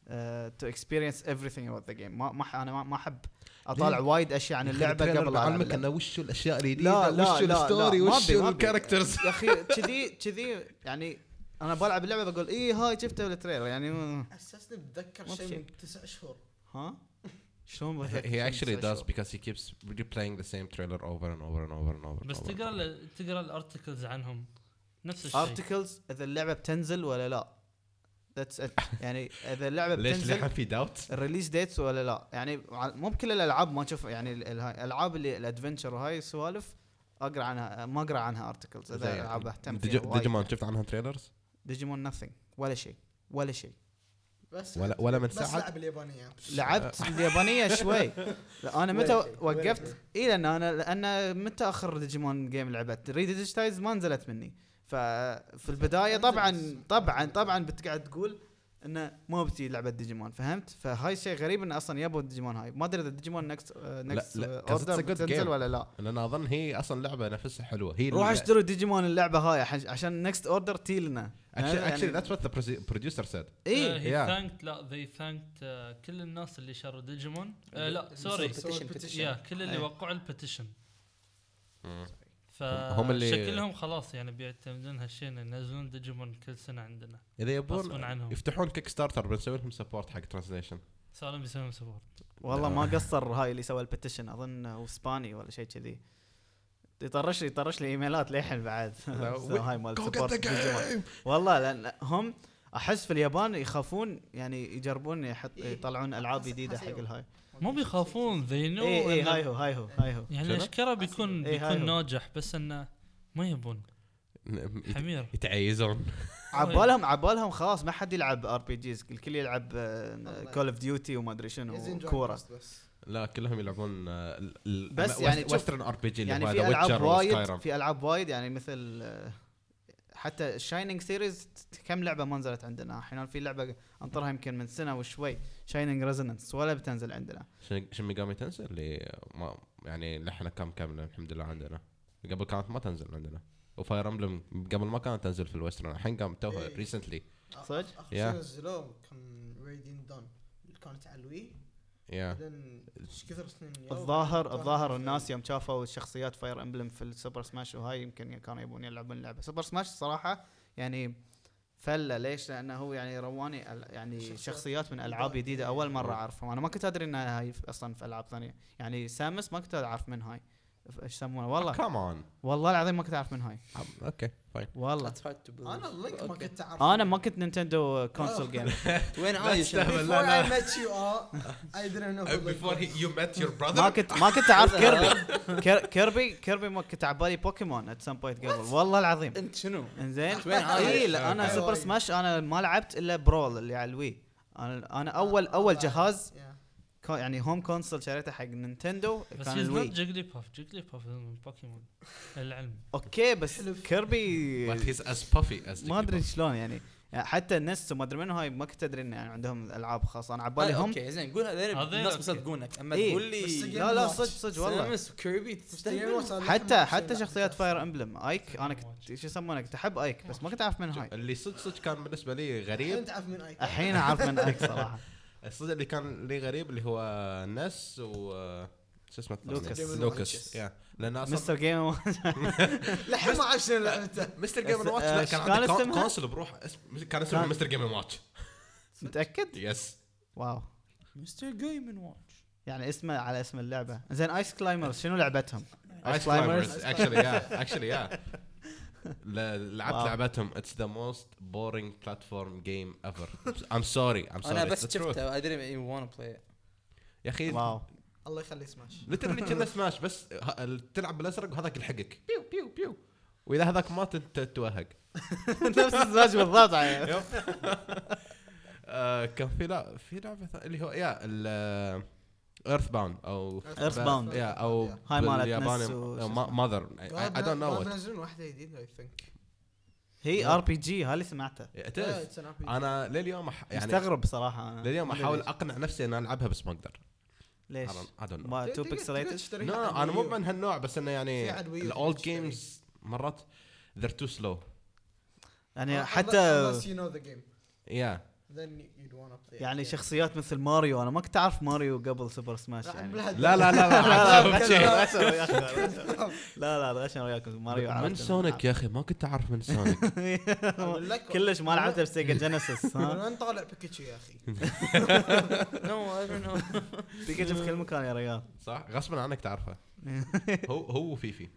تو اكسبيرينس everything about the game. ما ما ح- انا ما- ما احب اطالع وايد اشياء عن اللعبه قبل لا علمك ألعب. انه وش الاشياء لا الجديده لا وش لا الستوري لا، ما وش أبي- ما أبي. الكاركترز. يا اخي كذي كذي يعني انا بلعب اللعبه بقول ايه هاي شفته بالتريلر يعني م- حسسني بتذكر مو شيء بشيء. من تسع شهور. ها شلون بتذكر he شيء actually مسوي does شو؟ because he keeps replaying the same trailer over and over and over and over. بس and over. تقرا ال- تقرا الارتكلز عنهم نفس الشيء. ارتكلز اذا اللعبه بتنزل ولا لا. ذاتس ات يعني اذا اللعبه ليش بتنزل لحن في داوت؟ الريليز ديتس ولا لا. يعني ع- مو بكل الالعاب ما تشوف يعني ال- ال- الالعاب اللي الادفنتشر وهاي السوالف اقرا عنها ما اقرا عنها ارتكلز اذا العاب اهتم فيها. ديجيمون شفت عنها تريلرز؟ ديجيمون nothing ولا شيء ولا شيء. بس ولا ولا من بس ساعه. لعب اليابانيه. لعبت اليابانيه شوي. لا انا متى ولا شيء، ولا وقفت شيء. اي لان انا لان متى اخر ديجيمون جيم لعبت ريد ديجيتايز ما نزلت مني. ففي البدايه طبعا طبعا طبعا بتقعد تقول انه ما بتجي لعبه ديجيمون فهمت. فهاي شيء غريب انه اصلا يبوا ديجيمون هاي ما ادري اذا ديجيمون نكست نكست لا، 'cause اوردر it's a good بتنزل game. ولا لا. لان اظن هي اصلا لعبه نفسها حلوه. هي روح اشتروا ديجيمون اللعبه هاي عش- عشان نكست اوردر تي لنا. actually actually that's what the produ- producer said. ايه هي Yeah. ثانكت لا ذي ثانكت كل الناس اللي شروا ديجيمون آه لا سوري Petition, petition. يا كل اللي أي. وقعوا البيتيشن. هم اللي- فشكلهم خلاص يعني بيعتمدون هالشيء إن ينزلون ديجيمون كل سنه عندنا. اذا غصباً يبون عنهم. يفتحون كيك ستارتر بنسوي لهم سبورت حق ترانسليشن. صاروا بيسوون سبورت. والله ما قصر هاي اللي سوى البيتيشن اظن هو اسباني ولا شيء كذي. يطرش لي يطرش لي ايميلات للحين بعد. هاي مال سبورت ديجيمون. والله لان هم احس في اليابان يخافون يعني يجربون يحط يطلعون العاب جديده حق الهاي. مو بيخافون ذي نو اي اي هاي هو هاي هو هاي هو. يعني شنو؟ اشكره بيكون إيه، هاي بيكون هو. ناجح بس انه ما يبون حمير. يتعيزون. عبالهم عبالهم خلاص ما حد يلعب ار بي جيز الكل يلعب كول اوف ديوتي وما ادري شنو كوره. بس لا كلهم يلعبون آه، ال- ال- بس ال- يعني شوف، ويسترن ار بي جي اللي يعني هو في ذا العاب ويتشر وايد وسكايرم. في العاب وايد يعني مثل آه، حتى الشاينينج سيريز كم لعبه ما نزلت عندنا. الحين في لعبه انطرها يمكن من سنه وشوي شاينينج ريزونانس ولا بتنزل عندنا. شن ميجامي تنزل اللي ما يعني لحنا كم كامله الحمد لله عندنا. قبل كانت ما تنزل عندنا. وفاير امبلم قبل ما كانت تنزل في الويسترن الحين قام توها إيه. ريسنتلي. صدق؟ Yeah. اخر شيء نزلوه كان راديان دون اللي كانت على الوي. يا بعدين ايش كثر سنين يا الظاهر وبعدين الظاهر كان- الناس يوم شافوا الشخصيات فاير امبلم في السوبر سماش وهاي يمكن كانوا يبون يلعبون اللعبه. سوبر سماش صراحه يعني فله ليش؟ لانه هو يعني رواني ال- يعني شخصيات شخصيات من العاب جديده اول مره اعرفها. انا ما كنت ادري انها هاي اصلا في العاب ثانيه. يعني سامس ما كنت اعرف من هاي ايش يسمونه والله كمان والله العظيم ما كنت اعرف من هاي اوكي فاين. والله. That's hard to believe. انا اللينك ما Okay. كنت اعرف. انا ما كنت نينتندو كونسول جيم. وين عايش أنت؟ Before لا، لا. I met you all I didn't know who Link before he, was. you met your ما brother. كنت ما كنت اعرف كيربي كير- كيربي كيربي ما كنت على بالي بوكيمون ات سم بوينت قبل والله العظيم. انت شنو؟ انزين وين عايش؟ اي لا انا أوكي. سوبر سماش انا ما لعبت الا برول اللي على الوي. انا انا اول اول جهاز Yeah. كو- يعني هوم كونسول شريته حق نينتندو بس كان هيز نوت الوي. جيجلي باف جيجلي باف من بوكيمون العلم. اوكي بس But كيربي he's as puffy as ما ادري Jigglypuff. شلون يعني. يعني حتى النس وما ادري منو هاي ما كنت ادري انه يعني عندهم العاب خاصه. انا على بالي آه، هم اوكي زين قول هذول هذول الناس أوكي. بيصدقونك اما إيه. تقول بس لي لا لا Game صدق Watch. صدق والله. سامس وكيربي تستهبل. حتى حتى شخصيات فاير امبلم ايك انا كنت شو يسمونه كنت احب ايك بس ما كنت اعرف من هاي. اللي صدق صدق كان بالنسبه لي غريب. انت عارف من اي الحين اعرف من ايك صراحه. الصدق اللي كان لي غريب اللي هو نس و شو اسمه الثاني؟ لوكاس. لوكاس يا لان اصلا مستر جيم لحين ما عرفت شنو لعبته. مستر جيم بس، واتش آه، لا كان كان عنده اسمها؟ كونسول بروح اسم كان اسمه كان- مستر جيم واتش. متاكد؟ يس واو مستر جيم واتش. يعني اسمه على اسم اللعبه. زين ايس كلايمرز شنو لعبتهم؟ ايس كلايمرز اكشلي يا اكشلي يا لعبت واو. لعبتهم اتس ذا موست بورينج بلاتفورم جيم ايفر. ام سوري ام سوري انا بس شفته I didn't even want to play it. يا اخي واو الله يخلي سماش. ليترلي كنا سماش بس ه- تلعب بالازرق وهذاك يلحقك بيو بيو بيو واذا هذاك مات انت تتوهق. نفس الزواج بالضبط يعني. يب. آه، كان في لا في لعبه ثانية اللي هو يا ال ايرث باوند او Earthbound. يا او هاي مالت بالياباني نس وشو اسمه. ماذر اي دونت نو بنزلون واحده جديده I think. هي ار بي جي هاي اللي سمعته. Yeah, it's an R P G. انا لليوم أح- يعني مستغرب صراحه انا. لليوم ما أدري احاول ليش. اقنع نفسي ان العبها بس ما اقدر. ليش؟ I don't know. ما تو تقدر- بيكسليتد. تقدر تشتريها نو على انا مو الويو. من هالنوع بس انه يعني في على الويو الاولد تشتري. جيمز مرات they're too slow. يعني Unless- حتى unless you know the game. يا then you'd wanna play يعني again. شخصيات مثل ماريو انا ما كنت اعرف ماريو قبل سوبر سماش يعني لا لا لا لا لا لا الغشم وياكم ماريو من عرفت سونيك يا اخي ما كنت اعرف من سونيك. أقول لك كلش ما لعبته بسيجا جينيسيس من ها وين طالع بيكاتشو يا اخي؟ نو اي دونت نو. بيكاتشو في كل مكان يا رجال. صح غصبا عنك تعرفه. هو هو وفيفي.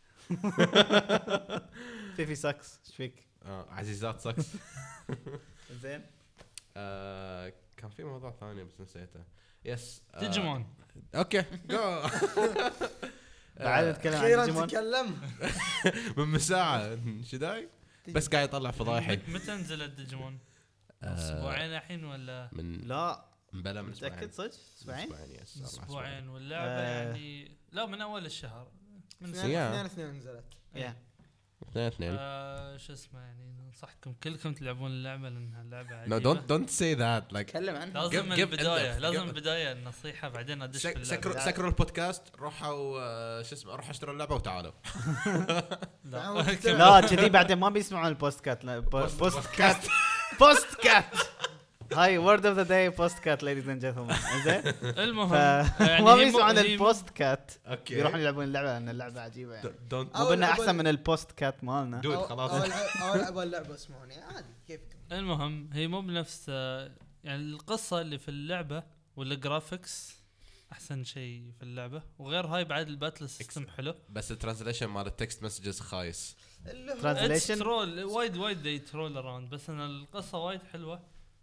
في في ساكس ايش فيك آه عزيزات ساكس. زين آه كان في موضوع ثاني بس نسيته. يس آه ديجيمون. اوكي جو. بعد نتكلم عن اخيرا ديجيمون. تكلم. من مساعة شداي بس قاعد يطلع فضايحي. متى نزلت ديجيمون؟ آه، اسبوعين الحين ولا من لا بلا من اسبوعين. متاكد صدق اسبوعين اسبوعين يس أربع اسبوعين واللعبه آه. يعني لا من اول الشهر من اثنين يا. اثنين اثنين نزلت. يا اثنين اثنين. آه شو اسمه يعني ننصحكم كلكم تلعبون اللعبه لانها لعبه No عجيبه. don't don't say that like تكلم عنها. لازم Give- من give البدايه in-depth. لازم Give- بدايه النصيحه بعدين ادش في سك- سكروا اللعبه. سكروا البودكاست روحوا آه، شو اسمه روحوا اشتروا اللعبة وتعالوا. لا لا كذي بعدين ما بيسمعون البوستكات لا بوست بوستكات بوستكات هاي وورد اوف ذا داي بوستكات ليديز اند جنتلمان زين المهم يعني ما هي مو- بيسمعون هي مو- البوستكات اوكي بيروحون يلعبون اللعبه لان اللعبه عجيبه يعني don't مو بنا أول- احسن أول- من البوستكات مالنا دود أو- خلاص. اول اول لعبه اللعبه اسمعوني عادي كيفكم. المهم هي مو بنفس آه، يعني القصه اللي في اللعبه والجرافيكس احسن شيء في اللعبه وغير هاي بعد الباتل سيستم حلو. بس الترانزليشن مال التكست مسجز خايس. اللي هو Translation. It's troll وايد وايد they troll around بس ان القصه وايد حلوه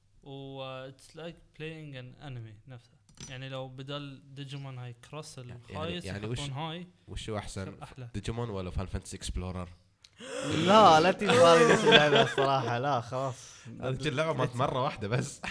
و it's like playing an anime نفسه يعني لو بدل ديجيمون هاي كروس الخايس يعني يعني وش- يحطون هاي وشو احسن يصير احلى. ديجيمون ولا فان فانتسي اكسبلورر؟ لا لا تبالي ليش اللعبه الصراحه لا خلاص هذه اللعبه مالت مره واحده بس.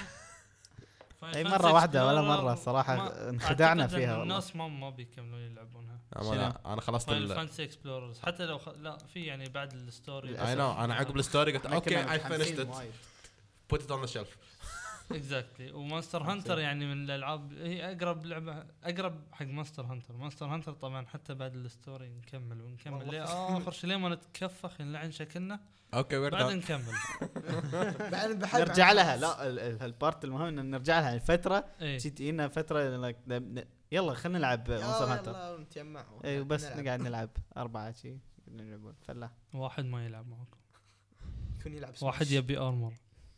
اي مره واحده ولا مره صراحه انخدعنا فيها والله. الناس ما ما بيكملون يلعبونها. انا انا خلصت فاينل ال فانتسي اكسبلوررز حتى لو خ... لا في يعني بعد الستوري اي نو انا عقب الستوري قلت إحنا اوكي كنا اي فينيشت متحمسين ات وايد. بوت ات اون ذا شيلف. اكزاكتلي ومونستر هانتر يعني من الالعاب هي اقرب لعبه اقرب حق مونستر هانتر. مونستر هانتر طبعا حتى بعد الستوري نكمل ونكمل ليه اخر شيء ليه ما نتكفخ نلعن شكلنا اوكي وير بعد دون. نكمل. بعد بحب نرجع لها لا ال- ال- البارت المهم ان نرجع لها الفتره ايه جيت لنا فتره like ن- ن- يلا خلينا نلعب مونستر هانتر يلا نتجمع اي وبس نلعب. نقعد نلعب اربعه شي نلعبون فلا واحد ما يلعب معكم يكون يلعب واحد يبي ارمر.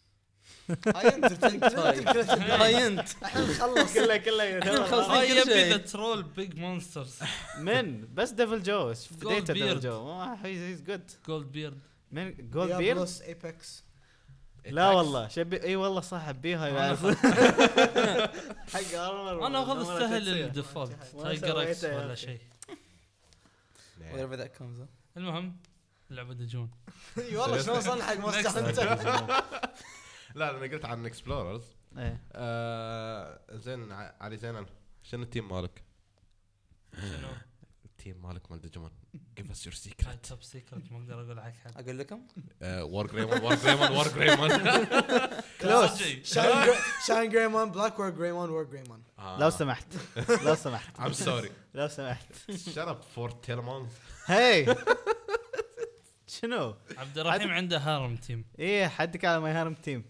هاي انت هاي انت احنا نخلص كله كله خلصنا هاي كل يبي شيء. ذا ترول بيج مونسترز من بس ديفل جو فديته ديفل Goldbeard. جو هيز جود جولد بيرد. من جولد بيرد بلس ايبكس لا والله شبي اي والله صح بيها أنا يعرف أخذ- حق ارمر انا اخذ والله السهل تنسيه. الديفولت ما تايجر اكس سويته يا ولا أخي. شيء. wherever that comes. المهم لعبه دجون. اي والله شلون وصلنا حق مونستر هانتر. لا انا قلت عن اكسبلوررز. ايه آه زين ع- علي زين شنو التيم مالك؟ شنو؟ التيم مالك مال ديجيمون give us your هاي secret. توب سيكرت ما اقدر اقول حق حد. اقول لكم وور جريمون وور جريمون وور جريمون. كلوز صدقي. شاين جريمون بلاك وور جريمون وور جريمون. لو سمحت لو سمحت I'm sorry. لو سمحت Shut up for Telemon. هي شنو عبد الرحيم عنده هارم تيم. ايه حدك على ماي هارم تيم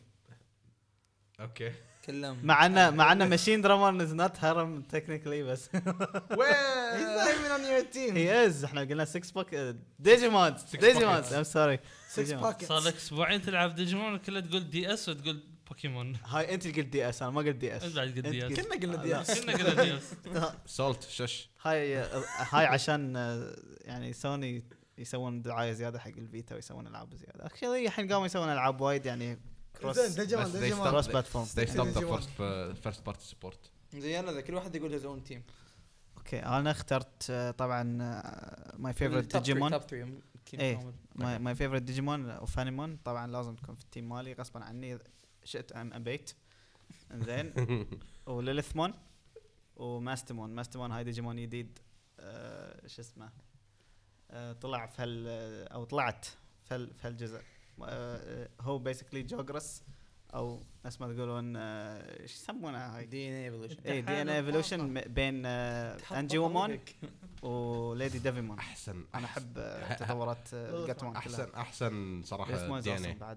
اوكي. كلهم مع انه مع انه ماشين درامون از نوت هارم تكنيكلي بس He's not even on your team. هي از احنا قلنا سكس بوك ديجيمون ديجيمون ام سوري Six pockets. صار لك اسبوعين تلعب ديجيمون وكله تقول دي اس وتقول بوكيمون. هاي انت قلت دي اس انا ما قلت دي اس انت بعد قلت دي اس. كنا قلنا دي اس. كنا قلنا دي اس. سولت شش. هاي هاي عشان آه، يعني سوني يسوون دعايه زياده حق الفيتا ويسوون العاب زياده اكشلي الحين قاموا يسوون العاب وايد يعني كروس زين ديجيمون بس they ديجيمون كروس stopped- بلاتفورم they stopped the Digimon. first uh, first party support. زين هذا كل واحد يقول his own team. اوكي انا اخترت آه، طبعا ماي فيفورت ديجيمون top three إيه. ماي ماي فيفورت ديجيمون وفانيمون طبعا لازم تكون في التيم مالي غصبا عني شئت ام ابيت انزين وليلثمون وماستمون ماستمون هاي ديجيمون جديد آه شو اسمه آه طلع في هال او طلعت في هال- في هالجزء آه هو بيسكلي جوجرس او ناس ما تقولون آه، ايش يسمونها هاي دي ان ايفولوشن. اي دي ان ايفولوشن بين آه انجي وومون وليدي ديفيمون احسن انا احب آه، تطورات آه، جاتمون كلها احسن احسن صراحه ليثمون دي ان أصلاً اي. بعد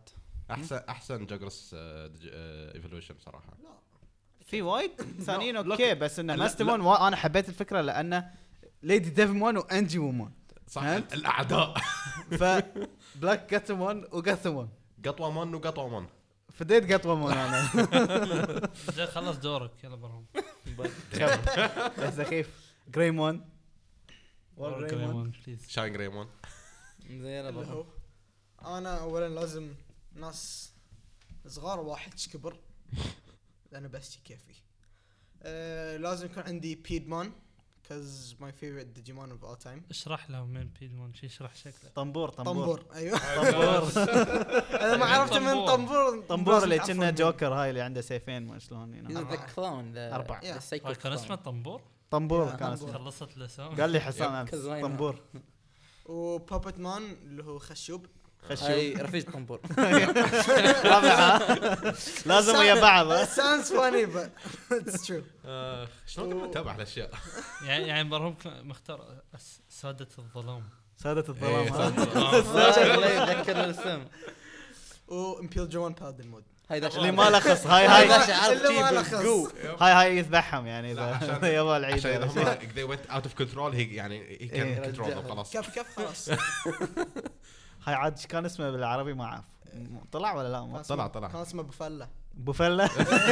احسن احسن جاجرس ايفولوشن صراحه. في وايد ثانيين لا، اوكي بس انه لا، ماستمون وا- انا حبيت الفكره لانه ليدي ديفمون وانجي وومون صح فهمت؟ الاعداء. ف بلاك جاتمون وجاثمون قطوه من وقطوه من. فديت جاتمون انا جاي خلص دورك يلا برهم. يا سخيف جريمون وور جريمون جريمون بليز. شاين جريمون. زين يلا اللي برهم. هو انا اولا لازم ناس صغار واحد كبر لانه بس كيفي. أه لازم يكون عندي بيدمان cause my favorite Digimon of all time. اشرح لهم من بيدمون شي اشرح شكله. طنبور طنبور طنبور ايوه. طنبور انا ما عرفت من طنبور. طنبور طنبور اللي لازم كنا تعرفون. جوكر هاي اللي عنده سيفين ما شلون He's هنا. the clown. the- أربعة. the Yeah. psycho كان اسمه clown. طنبور. طنبور يا كان طنبور. اسمه خلصت الاسم. قال لي حسان امس كزوينة. طنبور وبابت مان اللي هو خشوب. خشوب هاي رفيج طنبور. رابعة لازم ويا بعض It sounds funny but it's true. آه، شلون تتابع الاشياء؟ يعني يعني برهم ك- مختار أس- سادة الظلام. سادة الظلام إيه، ها؟ لا يتذكر الاسم. وامبيل جوان بالدن مود. هاي ذا اللي ما لخص هاي هاي هاي باشا عارف اللي ما شي لخص. بالقو. هاي هاي يذبحهم يعني لا، اذا عشان- يبغى العيد عشان ولا اذا شيء. هم they went out of control هي يعني he إيه. can control them خلاص. كيف كيف خلاص. هاي عاد إيش كان اسمه بالعربي ما اعرف طلع ولا لا ما كان طلع اسمه- طلع. كان اسمه بفله. بوفلا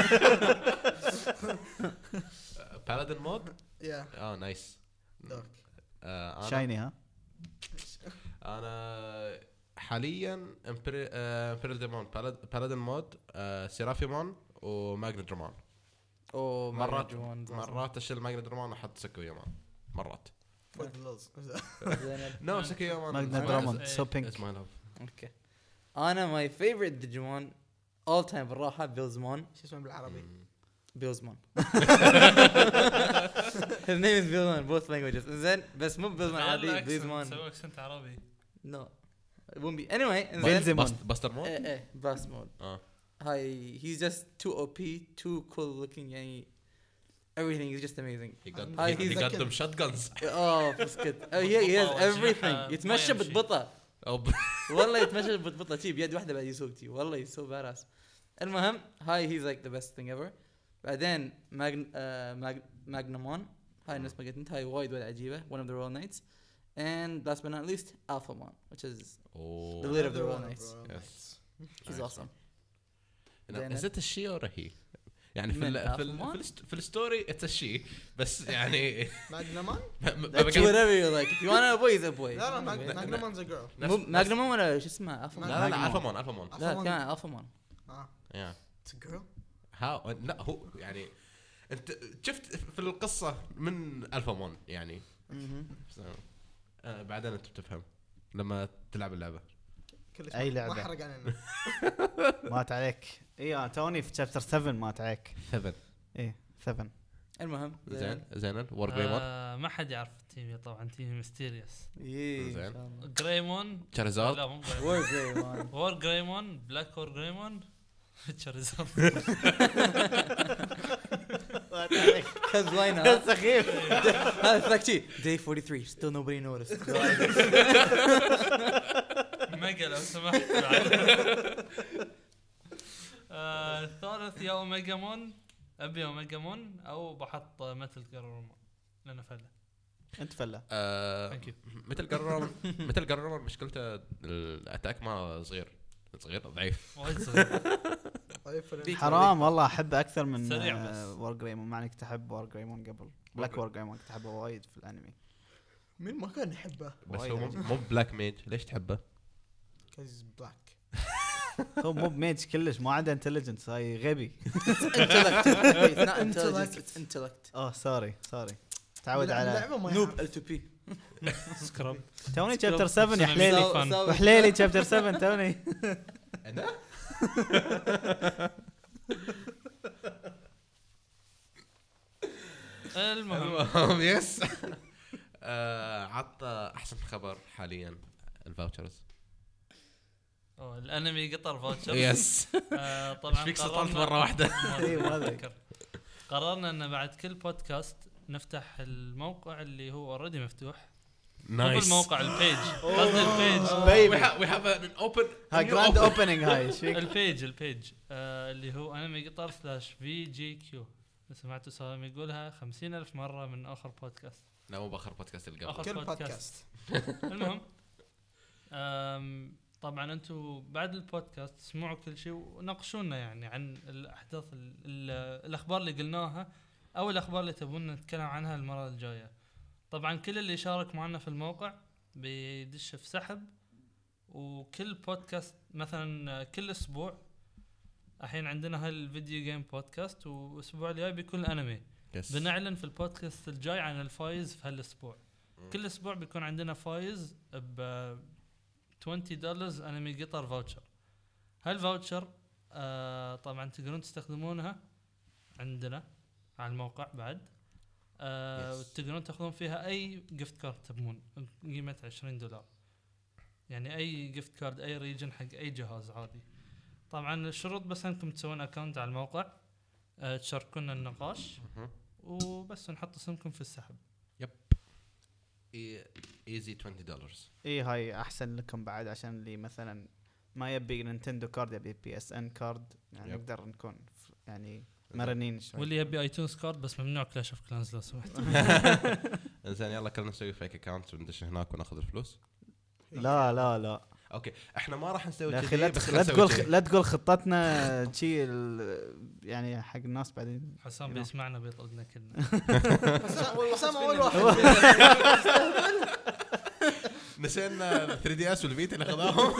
بالادن مود. يا اه نايس. دارك. آه، انا شايني ها انا حاليا امبيريال ديمون بالادن مود سيرافيمون وماجنادرمان. أوه مرات مرات مرات اشيل ماجنادرمان واحط سكويامان مرات. فور ذا لوز. نو سكويامان ماجنادرمان إيه. سو بينك از ماي لاف. اوكي. انا ماي فيفورت ديجيمون اول تايم بالراحه بيلزمون. شو اسمه بالعربي؟ بيلزمون. His name is Billsman both languages. زين بس مو بيلزمان عادي بيلزمان. سوي اكسنت عربي. No. It won't be. Anyway. زين. بيلزمون باستر مود. ايه ايه باس مود. اه هاي he's just too O P, too cool looking يعني everything is just amazing. he got هاي he he's got like them shotguns. اه بسكت. Oh yeah he has everything. يتمشى بطبطة. أو والله يتمشى بطبطة شي بيد واحدة بعد يسوق شي والله he's so badass. المهم هاي he's like the best thing ever. بعدين ماجن آه ماج ماجنمون هاي الناس ما قلت انت هاي وايد وايد عجيبة one of the royal knights and last but not least Alphamon which is the leader of the royal knights. Yes. He's Nice. awesome. Is it a she or a he؟ يعني في من ال في ال Alphamon؟ في, ال في الستوري it's a she بس يعني ماجنمان؟ That's whatever you like. If you want a boy he's a boy. لا لا ماجنمان's a girl. مو ماجنمون ولا شو اسمه Alphamon. لا لا لا الفامون الفامون. لا كان Alphamon. اه yeah it's a girl. how لا هو يعني انت شفت في القصة من الفامون يعني so, آه بعدين انت بتفهم لما تلعب اللعبة. كلش أي ما- لعبة. ما حرق علينا. مات عليك اي انا توني في شابتر سبعة مات عليك seven ايه سبعة المهم زين زين وور جريمون آه، ما حد يعرف التيم طبعا تيم ميستيريوس. ايه زين. جريمون تشاريزارد. لا مو جريمون. وور جريمون. وور جريمون بلاك وور جريمون تشاريزارد. مات عليك كزوينة. سخيف هذا like شي day forty-three still nobody noticed. ميجا لو سمحت. آه، الثالث يا اوميجامون ابي اوميجامون او بحط مثل جرامون لانه فله. انت فله ثانك يو. مثل قررون مثل قررون مشكلته الاتاك ما صغير صغير ضعيف. وايد صغير. طيب فل- حرام والله احبه اكثر من سريع بس. وور جريمون مع اني كنت احب وور جريمون قبل بلاك وور جريمون كنت احبه وايد في الانمي مين ما كان يحبه؟ بس وايد هو مو- عجيب. مو بلاك ميج ليش تحبه؟ كاز بلاك. هو مو بميج كلش ما عنده انتليجنس هاي غبي Intellect. It's not intelligence. It's intellect. اوه سوري سوري تعود على اللعبة ما Noob يعرف. L two P. سكراب. توني شابتر سبعة يا حليلي ساو- فن. ساو- وحليلي شابتر سبعة توني انا المهم المهم يس آه، عط احسن خبر حاليا الفاوتشرز. أوه، الانمي قطر فوتشر. يس آه، ايش طبعا فيك سطرت قررنا- مره واحده؟ إيه، ما أدري. أتذكر. قررنا ان بعد كل بودكاست نفتح الموقع اللي هو اوريدي مفتوح مو Nice. بالموقع البيج قصدي البيج We have we have an open. ها new جراند open. اوبننج هاي ايش فيك؟ البيج البيج آه اللي هو انمي قطر سلاش في جي كيو. سمعتوا سالم يقولها خمسين ألف مرة من آخر بودكاست. لا مو باخر بودكاست اللي قبل. آخر كل بودكاست. بودكاست. المهم أم، طبعا انتم بعد البودكاست اسمعوا كل شيء وناقشونا يعني عن الاحداث ال ال الاخبار اللي قلناها او الاخبار اللي تبون نتكلم عنها المره الجايه. طبعا كل اللي يشارك معنا في الموقع بيدش في سحب، وكل بودكاست مثلا كل اسبوع الحين عندنا هالفيديو جيم بودكاست، والاسبوع الجاي بيكون انمي. Yes. بنعلن في البودكاست الجاي عن الفايز في هالاسبوع. كل اسبوع بيكون عندنا فايز ب عشرين دولار انمي قطر فاوتشر. هالفاوتشر آه طبعا تقدرون تستخدمونها عندنا على الموقع بعد. آه Yes. تقدرون تاخذون فيها اي جيفت كارد تبون قيمه عشرين دولار، يعني اي جيفت كارد اي ريجن حق اي جهاز عادي. طبعا الشروط بس انكم تسوون اكونت على الموقع، آه تشاركونا النقاش مهم. وبس نحط اسمكم في السحب. ايزي عشرين دولار. اي هاي احسن لكم بعد، عشان اللي مثلا ما يبي نينتندو كارد يبي بي اس ان كارد، يعني يب. نقدر نكون ف- يعني مرنين شوي. واللي يبي ايتونز كارد بس ممنوع كلاش اوف كلانز لو سمحت. انزين يلا كلنا نسوي فيك اكونت وندش هناك وناخذ الفلوس. لا لا لا اوكي احنا ما راح نسوي يا اخي كذي لا بس تخ- لا خلنا تقول نسوي خ- لا تقول خطتنا شيء يعني حق الناس بعدين. حسام You know. بيسمعنا بيطردنا كلنا. حسام اول واحد. نسينا ثري دي اس والفيتا اللي خذاهم.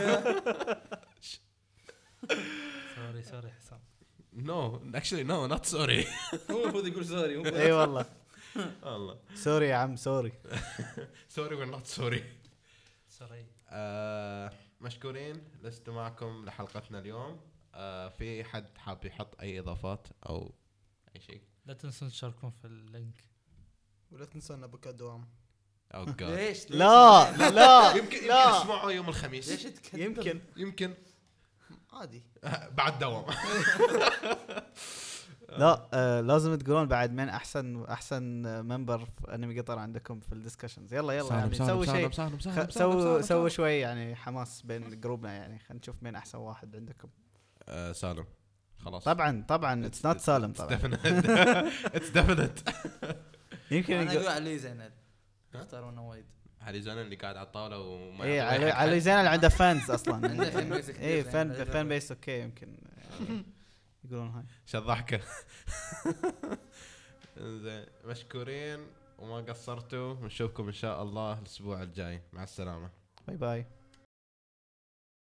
سوري سوري حسام. نو اكشلي نو نوت سوري. هو المفروض يقول سوري. اي والله والله سوري يا عم سوري. سوري ولا نوت سوري. سوري. مشكورين لست معكم لحلقتنا اليوم. آه في حد حاب يحط اي اضافات او اي شيء؟ لا تنسون تشاركون في اللينك. ولا تنسونا بكى دوام. او جاد ليش؟ لا لا يمكن يمكن لا اسمعوا يوم الخميس. ليش تكذب؟ يمكن يمكن عادي. بعد دوام. لا آه لازم تقولون بعد من احسن احسن ممبر في انمي قطر عندكم في الدسكشنز. يلا يلا يعني سووا شيء، خ- سووا سووا شوي يعني حماس بين جروبنا، يعني خلينا نشوف مين احسن واحد عندكم. آه سالم خلاص. طبعا طبعا اتس نوت سالم طبعا. اتس ديفينيت. يمكن انا يقول- اقول علي زينل اختارونا وايد. علي زين اللي قاعد على الطاوله وما ايه يعطي علي حق علي حد. زين اللي عنده فانز اصلا. عنده fan base كبير ايه يعني. فان هذا فان جرب. بيس اوكي يمكن يعني يقولون هاي. شو الضحكه. زين مشكورين وما قصرتوا، ونشوفكم ان شاء الله الاسبوع الجاي. مع السلامه. باي باي.